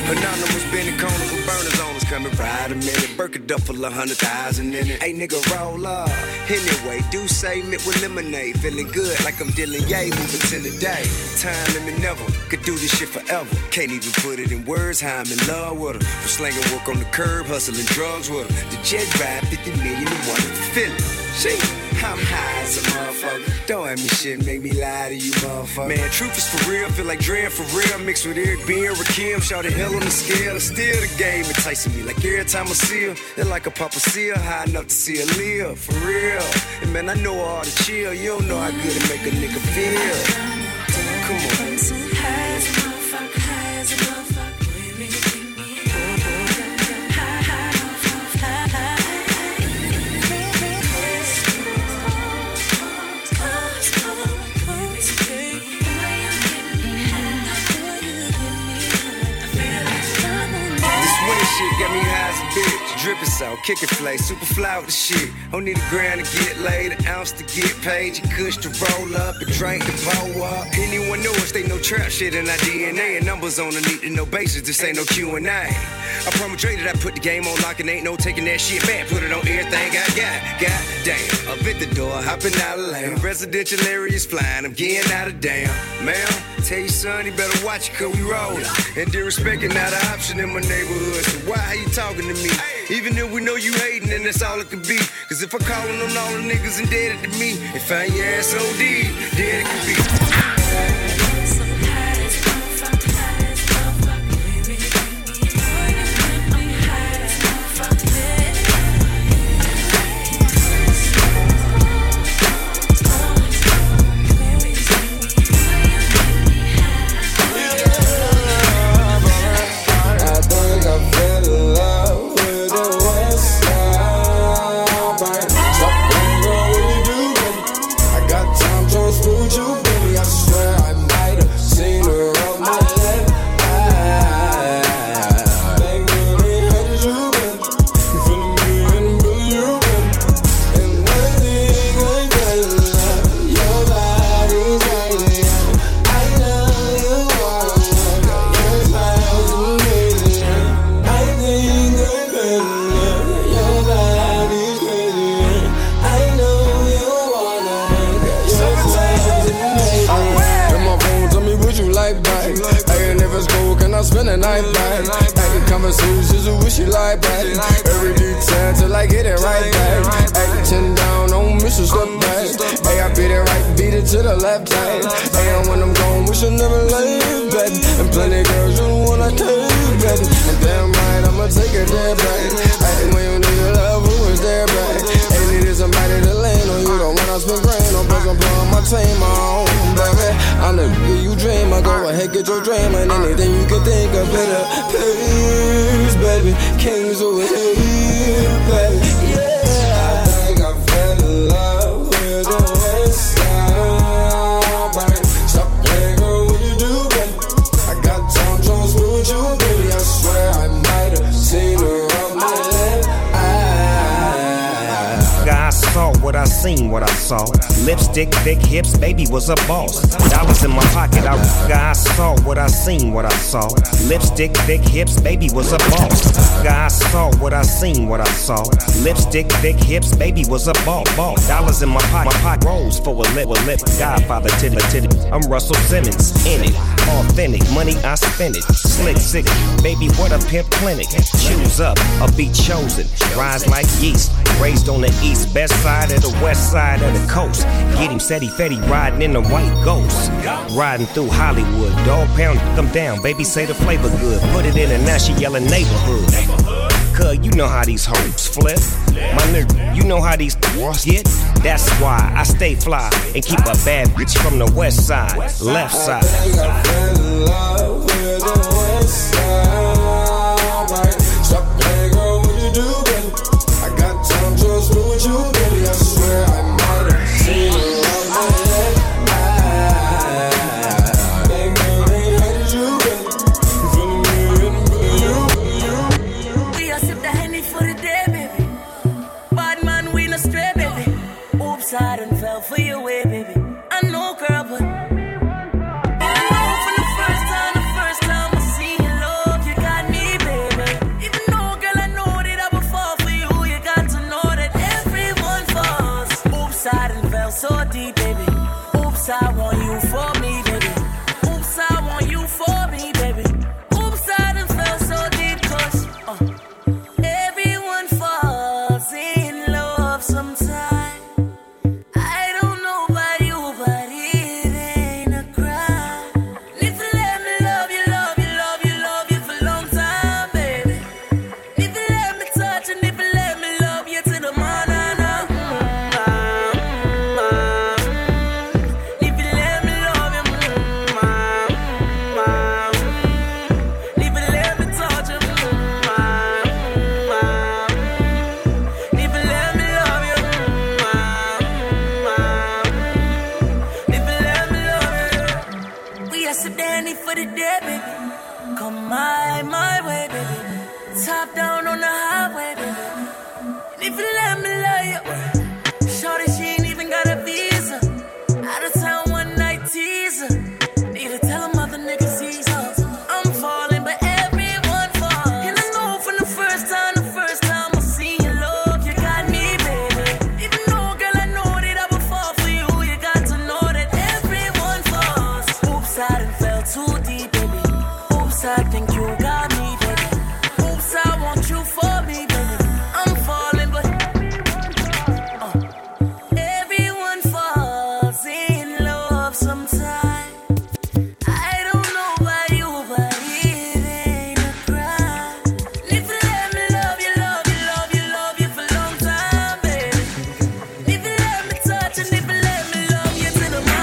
C: Anonymous bending corners with burners on us coming right a minute. Burked up full of 100,000 in it. Hey nigga, roll up. Anyway, do say mint with lemonade. Feeling good like I'm dealing yay, moving to the day. Time limit never. Could do this shit forever. Can't even put it in words how I'm in love with her. From slanging work on the curb, hustling drugs with her. The jet ride 50 million and one feeling. Shit, I'm high as a motherfucker. Don't have me shit, make me lie to you, motherfucker. Man, truth is for real, feel like Dre for real. Mixed with Eric B and Rakim, shout the hell on the scale. It's still the game, enticing me like every time I see her. It's like a Papa Seal, high enough to see her live, for real. And man, I know all the chill, you don't know how good it make a nigga feel. Come on.
N: High as a motherfucker, high as a motherfucker.
C: Shit got me high as a bitch. Drippin' salt, kickin' flay, super fly with the shit. Don't need a grand to get laid, an ounce to get paid. You kush to roll up and drink to blow up. Anyone know us, they know trap shit in our DNA. And numbers on the need to know basis, this ain't no Q&A. I promise Dre that I put the game on lock and ain't no taking that shit back. Put it on everything I got. God damn, up at the door, hopping out of lane. Residential areas flying, I'm getting out of damn. Man, tell you son, you better watch it cause we rollin'. And disrespecting not an option in my neighborhood. So why are you talking to me? Even if we know you hating, then that's all it could be. Cause if I callin' on all the niggas indebted to me, and find your ass OD, dead it could be.
V: Spend the night back. Acting conversations with wish you like back. Every detail till I get it right back. Acting down on mission, step back. Hey, I beat it right, beat it to the left side. Hey, and when I'm gone, we should never leave, baby. And plenty girls you wanna take, baby. And damn right, I'ma take it there back. Hey, when you need love, who is there back? Hey, needed somebody to land on you. Don't wanna spend grand on plus I'm pulling my team on, baby. I'm the nigga you dream. I go ahead, get your dream and anything you can think of better. Please, baby, kings over here, baby. Yeah, I think I fell in love with the West Side, baby. Stop playing, girl, what you do, baby? I got time to with you, baby. I swear I might have seen her on my left eye.
W: I saw what I seen, what I saw. Lipstick, thick hips, baby was a boss. Dollars in my pocket, I saw what I seen, what I saw. Lipstick, thick hips, baby was a boss. I saw what I seen, what I saw. Lipstick, thick hips, baby was a boss. Dollars in my pocket, rolls for a lip. Godfather titty. I'm Russell Simmons, in it. Authentic, money I spend it. Slick, sick, baby, what a pimp clinic. Choose up, a be chosen. Rise like yeast, raised on the east, best side of the west side of the coast. Get him steady, fetty, riding in the white ghost. Riding through Hollywood, dog pound, come down, baby say the flavor good. Put it in and now she yelling neighborhood. Cuz you know how these hoes flip. My nigga, you know how these get. That's why I stay fly and keep a bad bitch from the west side, left side.
V: I think I fell in love with the west side, right? Stop playing, girl, what you do, baby? I got time to spend with you, baby. I swear I might have seen her on my left eye. Baby, girl, ain't hated you, baby. You feeling me and you.
H: We a sip the Henny for the day, baby. Bad man, we no stray, baby. Oops, I done fell for your way, baby. I know, girl, but I know from the first time I seen your love, you got deep, baby. Oops, I want you for me, baby. Oops, I want you for me, baby. Oops, I done fell so deep, cause everyone falls in love sometime. I don't know about you, but it ain't a crime. If you let me love you, love you, love you, love you for a long time, baby. If you let me touch and if you let me love you to the morning. My way, baby. Top down on the highway, baby. And if you let me love you, shorty, she ain't even got a visa. Out of town one night teaser. Need to tell them other niggas he's up. I'm falling, but everyone falls. And I know from the first time I see your love, you got me, baby. Even though, girl, I know that I would fall for you. You got to know that everyone falls. Oops, I done fell too deep, baby. Oops, I think you got me, baby. Oops, I want you for me, baby. I'm falling, but everyone falls in love sometime. I don't know about you, but it ain't a crime. If you let me love you, love you, love you, love you for a long time, baby. If you let me touch and if you let me love you to the morning.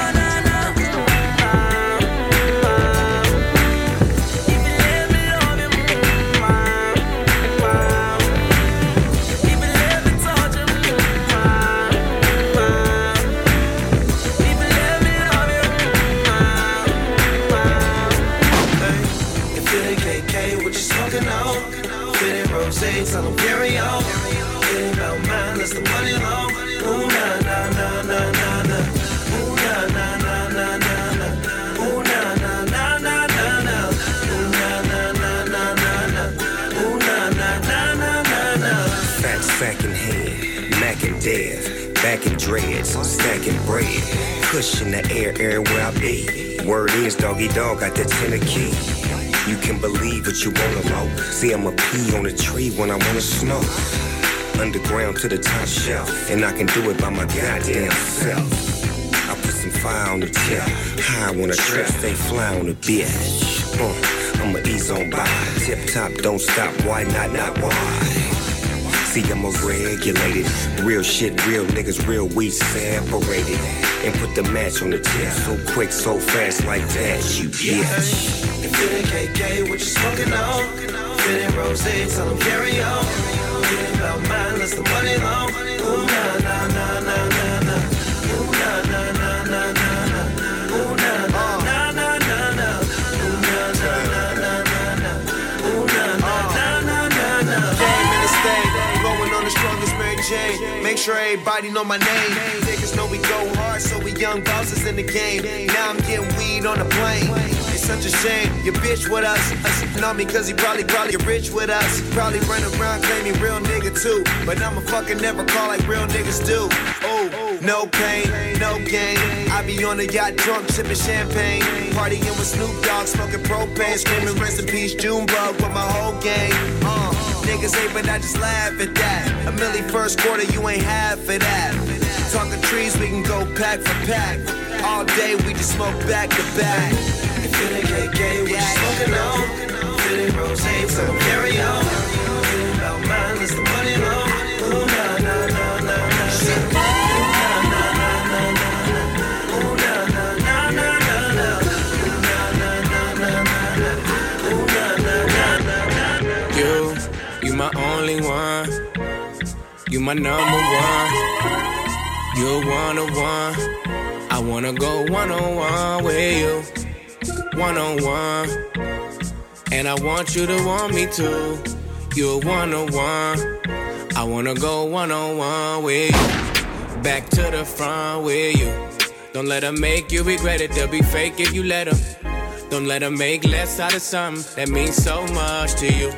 Q: Tell them carry on. It ain't about mine, that's the money long. Ooh, na, na, na, na, na, na. Ooh, na, na, na, na, na, na. Ooh, na, na, na, na, na, na. Ooh, na, na, na, na, na, na. Ooh, na, na, na, na, na, na.
W: Fat sack in hand, Mac and Dev, back in dreads, stacking bread. Push in the air, everywhere I be. Word is, doggy dog got that tenor key. You can believe what you wanna know. See, I'm a pea on a tree when I wanna smoke. Underground to the top shelf, and I can do it by my goddamn self. I put some fire on the tip, high on a trip, stay fly on the bitch. I'ma ease on by, tip top, don't stop, why not why? See, I'm regulated, real shit, real niggas, real weed separated. And put the match on the tip, so quick, so fast like that, you bitch.
Q: If it ain't KK, what you smoking on? If it ain't rose, tell them carry on. It ain't about mine, that's the money long. Ooh, na, na, na, na, na, na. Ooh, na, na, na, na, na, na. Ooh, na, na, na, na, na, na. Ooh, na, na, na, na, na, na. Ooh, na, na, na, na, na, na.
F: Game in the state, rolling on the strongest Mary Jane. Make sure everybody know my name. Niggas know we go hard, so we young bosses in the game. Now I'm getting weed on the plane. It's such a shame, your bitch with us. Know me cause he probably get rich with us. Probably run around claiming real nigga too. But I'ma fucking never call like real niggas do. Oh, no pain, no gain. I be on the yacht drunk, sipping champagne. Partying with Snoop Dogg, smoking propane. Screaming rest in peace, Junebug with my whole gang. Niggas hate but I just laugh at that. A milli first quarter, you ain't half of that. Talking trees, we can go pack for pack. All day we just smoke back to back.
Q: If it ain't KK, what you smoking on? If it ain't rose, so carry on. It ain't about mine, that's the money long. Ooh, na, na, na, na, na, na. Ooh, na, na, na, na, na. Ooh, na, na, na, na, na, na. Ooh, na, na, na, na, na, na. Ooh, na, na, na, na, na.
R: You my only one. You my number one. You're one-on-one. I wanna go one-on-one with you. One-on-one. And I want you to want me too. You're one-on-one. I wanna go one-on-one with you. Back to the front with you. Don't let them make you regret it. They'll be fake if you let them. Don't let them make less out of something that means so much to you.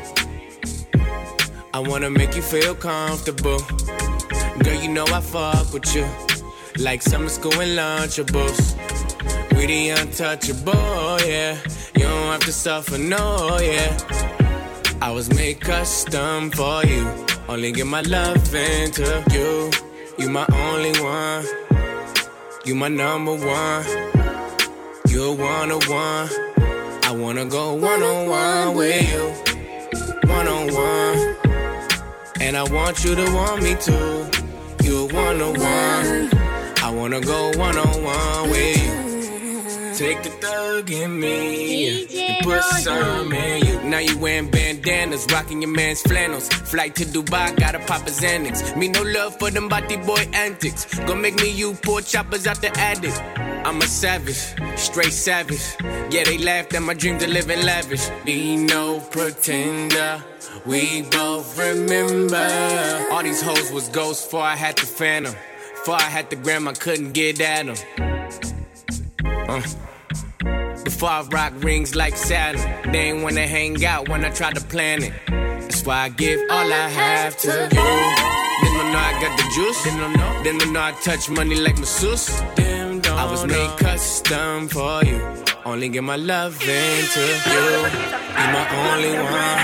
R: I wanna make you feel comfortable. Girl, you know I fuck with you. like summer school and Lunchables. We the untouchable, yeah. You don't have to suffer, no, yeah. I was made custom for you. Only give my love into you. You my only one. You my number one. You're one-on-one. I wanna go one-on-one with you. One-on-one. And I want you to want me too. You're one-on-one. I wanna go one-on-one with you. Take the thug in me and put some in you. Now you wearing bandanas, rocking your man's flannels. Flight to Dubai, gotta pop a Xanax. Me no love for them body boy antics. Gonna make me you poor choppers out the attic. I'm a savage, straight savage. Yeah, they laughed at my dreams of living lavish. Be no pretender, we both remember. All these hoes was ghosts before I had the phantom. Before I had the gram, I couldn't get at them. Before I rock rings like Saturn, they ain't wanna hang out when I try to plan it. That's why I give all I have to you. Didn't know I got the juice. Didn't know I touch money like masseuse. I was made custom for you. Only give my love into you. You my only one.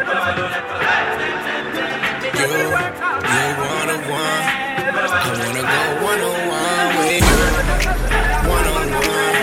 R: You're one-on-one. I wanna go one-on-one with you. One-on-one.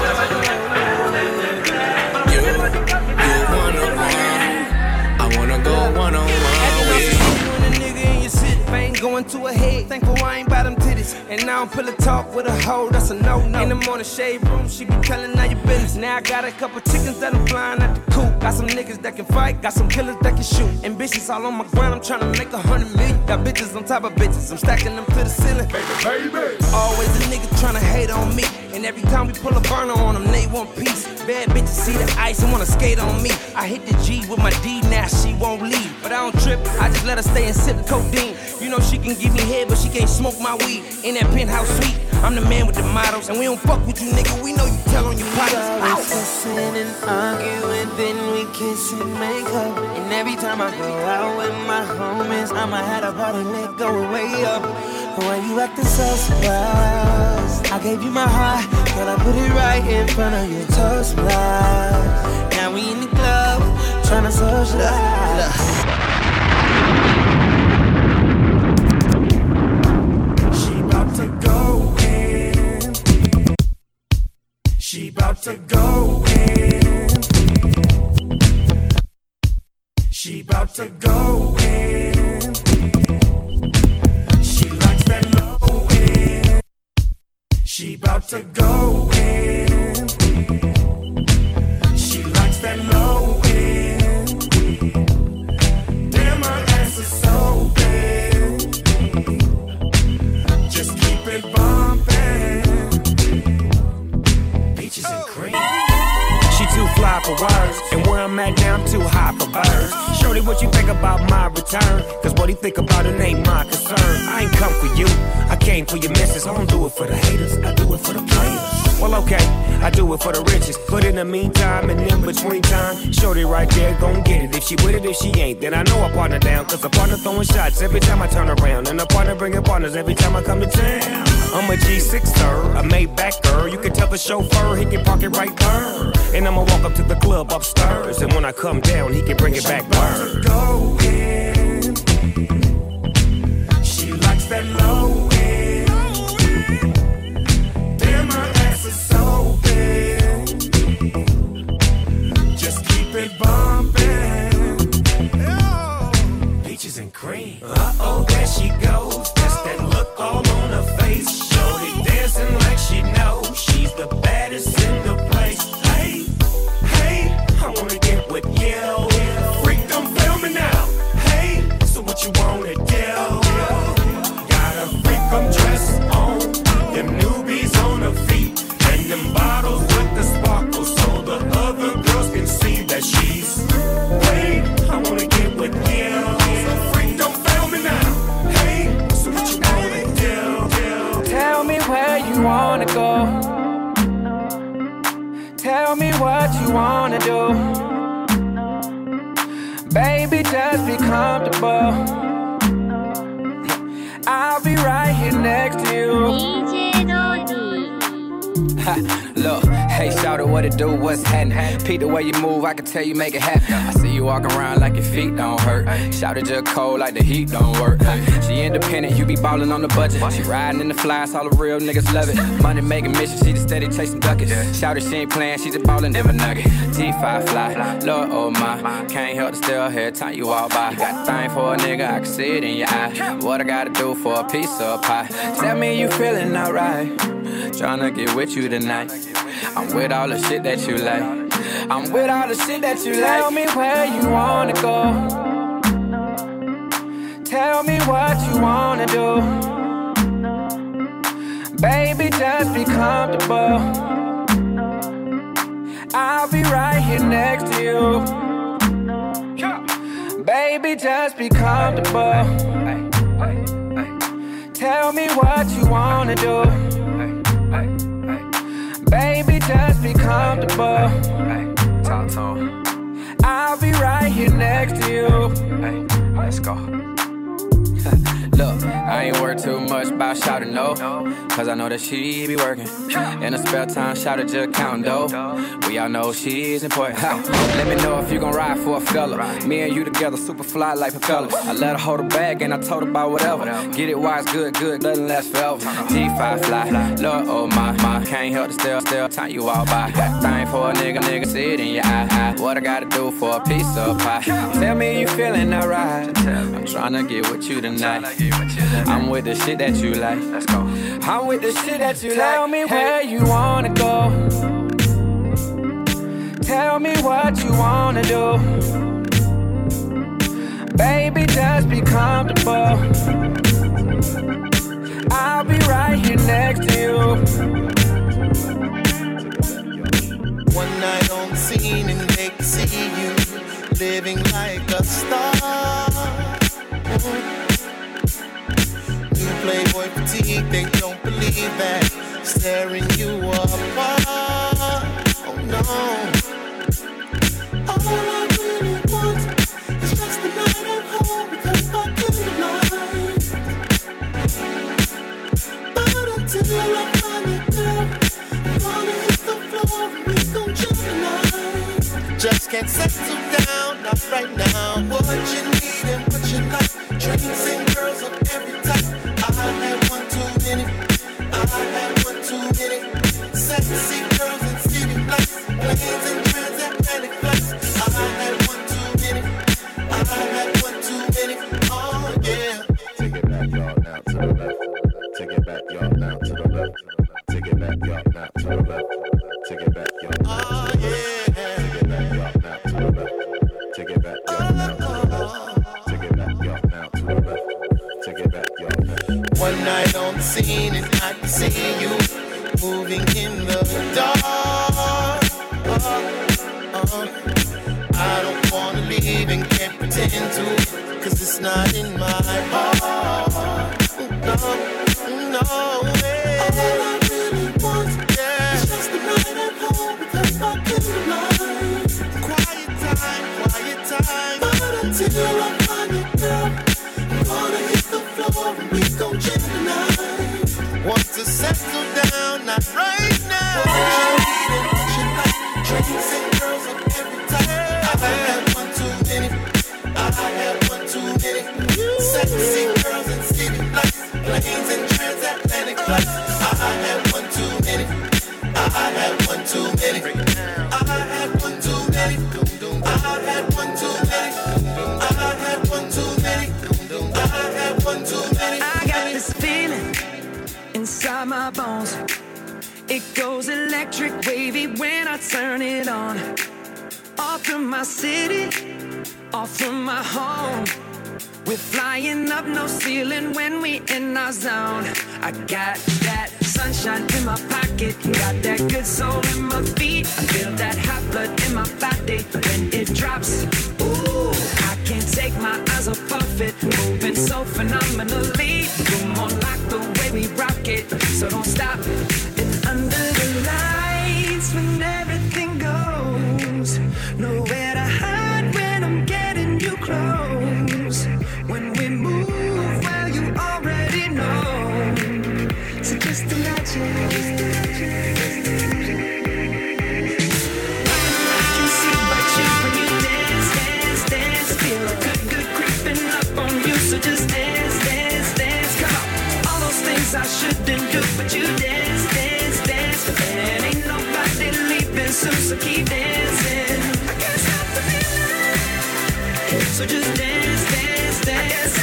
R: You're one-on-one. I wanna go one-on-one with you.
G: Ain't going to a head, thankful I ain't by them titties. And now I'm pillow talk with a hoe, that's a no-no. In the morning shade room, she be telling all your business. Now I got a couple chickens that I'm flying at the coop. Got some niggas that can fight, got some killers that can shoot. Ambitions all on my ground, I'm tryna make 100 million. Got bitches on top of bitches, I'm stacking them to the ceiling. Baby. Always a nigga tryna hate on me. And every time we pull a burner on them, they want peace. Bad bitches see the ice and wanna skate on me. I hit the G with my D, now she won't leave. But I don't trip, I just let her stay and sip codeine. You know she can give me head, but she can't smoke my weed. In that penthouse suite, I'm the man with the models. And we don't fuck with you, nigga, we know you tell on your partners.
Q: We always fussing and arguing, then we kiss and make up. And every time I go out with my homies, I'ma have a party leg going way up. Why you acting so surprised? I gave you my heart, girl, I put it right in front of your toast block. Now we in the club, tryna socialize.
B: She bout to go in. She bout to go in. She bout to go in. She likes that low in. She bout to go in. She likes that low in. Damn, my ass is so big. Just keep it bumping. Peaches and cream.
V: She too fly for words, and where I'm at now, I'm too high for birds. Shorty, what you think about my return? Cause what he think about it ain't my concern. I ain't come for you, I came for your missus. I don't do it for the haters, I do it for the players. Well, okay, I do it for the riches. But in the meantime and in between time, shorty right there gon' get it. If she with it, if she ain't, then I know I partner down. Cause a partner throwing shots every time I turn around. And a partner bringing partners every time I come to town. I'm a G6er, a Maybach-er. You can tell the chauffeur, he can park it right there. And I'ma walk up to the club upstairs. And when I come down, he can bring it back word.
B: Go in. She likes that low end. Damn, my ass is so big. Just keep it bumping. Peaches and cream.
V: Uh-oh, there she goes. That's that look all on her face. Shorty dancing like she knows she's the baddest in the place. Hey, hey, I wanna get with you. Freak, don't fail me now. Hey, so what you wanna do? Got a freak, I'm dressed on. Them newbies on her feet. And them bottles with the sparkle so the other girls can see that she's. Hey, I wanna get with you. Freak, don't fail me now. Hey, so what you wanna do?
G: Tell me where you wanna go. Tell me what you wanna do. Baby, just be comfortable. I'll be right here next to you.
R: Look, hey, shout out what it do, what's happening? Peep the way you move, I can tell you make it happen. I see you walking around like your feet don't hurt. Shout it just cold like the heat don't work. She independent, you be ballin' on the budget. She riding in the flies, all the real niggas love it. Money making mission, she just steady chasing duckets. Shout it, she ain't playing, she just ballin' never nugget. T5 fly, Lord oh my, can't help to still hear time you walk by. You got a thing for a nigga, I can see it in your eye. What I gotta do for a piece of pie? Tell me you feeling alright. Tryna get with you tonight. I'm with all the shit that you like. I'm with all the shit that you like. Tell me where you wanna go. Tell me what you wanna do. Baby, just be comfortable. I'll be right here next to you. Baby, just be comfortable. Tell me what you wanna do. Baby, just be comfortable. I'll be right here next to you. Let's go. Look, I ain't worried too much about shouting no, cause I know that she be working. In her spare time, shouting just counting dough. We all know she's important. Let me know if you gon' ride for a fella. Me and you together, super fly like propellers. I let her hold her bag and I told her about whatever. Get it wise, good, nothing lasts forever. T5 fly, Lord oh my, can't help to still time you all by. Got a thing for a nigga, see it in your eye. What I gotta do for a piece of pie? Tell me you feeling alright. I'm tryna get with you tonight. I'm with the shit that you like. Let's go. I'm with the shit that you like. Tell me where you wanna go. Tell me what you wanna do. Baby, just be comfortable. I'll be right here next to you.
F: One night on the scene and they can see you living like a star. Playboy fatigue, they don't believe that. Staring you apart. Oh no. All I really want is just the night at home because I couldn't lie. But until I find it, girl, I'm gonna hit the floor and we gon' jump tonight. Just can't settle down, not right now. What you need and what you like. Drinks and girls of every type. I had one too many. I had one too many. Sexy girls and city lights, planes and transatlantic flights. I had one too many. I had one too many. Oh yeah.
O: Take it back, y'all, now to the left. Take it back, y'all, now to the left. Take it back, y'all, now to the left. Take it back, y'all. Oh
F: yeah.
O: Take it back, y'all, now to the left. Take it back, y'all, now to the left. Take it back, y'all, now to the left. Take it back, y'all.
F: One night on the scene and I can see you moving in the dark. I don't wanna leave and can't pretend to, cause it's not in my heart. No way. All I really want is just the night at home because I couldn't lie. Quiet time. But until I find it, girl, I'm gonna hit the floor and we gon' jam tonight. Want to settle down, not right now. What you need and what you like. Drinks and girls of every type. I had one too many. I had one too many. Sexy girls and city lights, planes and transatlantic flights. I had one too many. I had one too many. I had one too many. I had one too many. I had one too many. I had one too many.
N: I got this feeling inside my bones. It goes electric wavy when I turn it on. Off from my city, off from my home. We're flying up, no ceiling when we in our zone. I got that sunshine in my pocket, got that good soul in my feet. I feel that hot blood in my body when it drops. Ooh, I can't take my eyes off it, moving so phenomenally. You're more like the way we rock it, so don't stop. And under the lights when everything goes, nowhere to hide when I'm getting you close. When we move, well, you already know. So just imagine. so keep dancing. I can't stop the feeling. So just dance, dance, dance.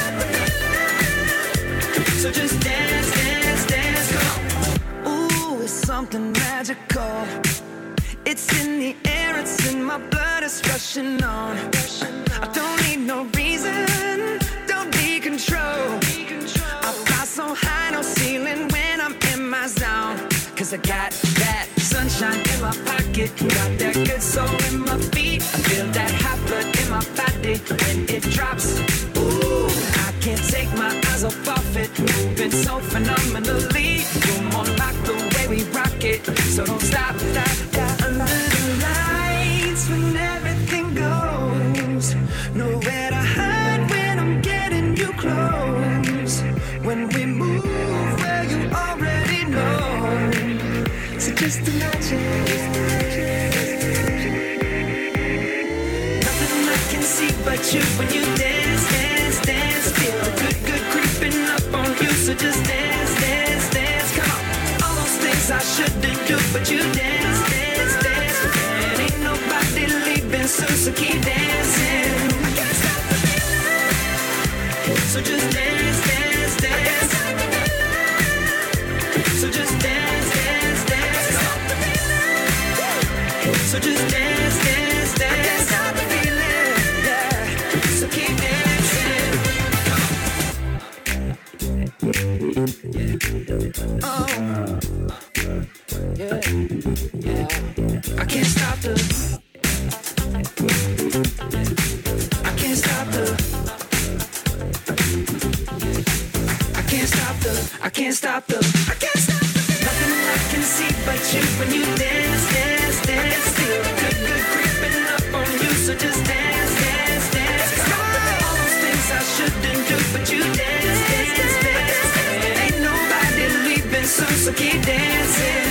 N: So just dance, dance, dance. Come on. Ooh, it's something magical. It's in the air, it's in my blood, it's rushing on. I don't need no reason, don't need control. I fly so high, no ceiling when I'm in my zone. Cause I got that sunshine in my pocket, got that good soul in my feet. I feel that hot blood in my body when it drops. Ooh, I can't take my eyes off of it, moving so phenomenally. You're more like the way we rock it, so don't stop, stop, stop. Under the lights when everything goes, nowhere to hide when I'm getting you close. When we move where you already know, so just imagine. Nothing I can see but you when you dance, dance, dance. Feel the good, good creeping up on you, so just dance, dance, dance. Come on, all those things I shouldn't do, but you dance, dance, dance. And ain't nobody leaving soon, so keep dancing. I can't stop the feeling, so just dance, dance, dance. So just dance, dance, dance. So just dance, dance, dance. I can't stop the feeling, yeah. So keep dancing. Oh, yeah, yeah. I can't stop the. I can't stop the. I can't stop the. I can't stop the. I can't stop the. Nothing I can see but you when you dance, dance, dance. Feel good, good creeping up on you, so just dance, dance, dance. All those things I shouldn't do, but you dance, dance, dance. Ain't nobody leaving soon, so keep dancing.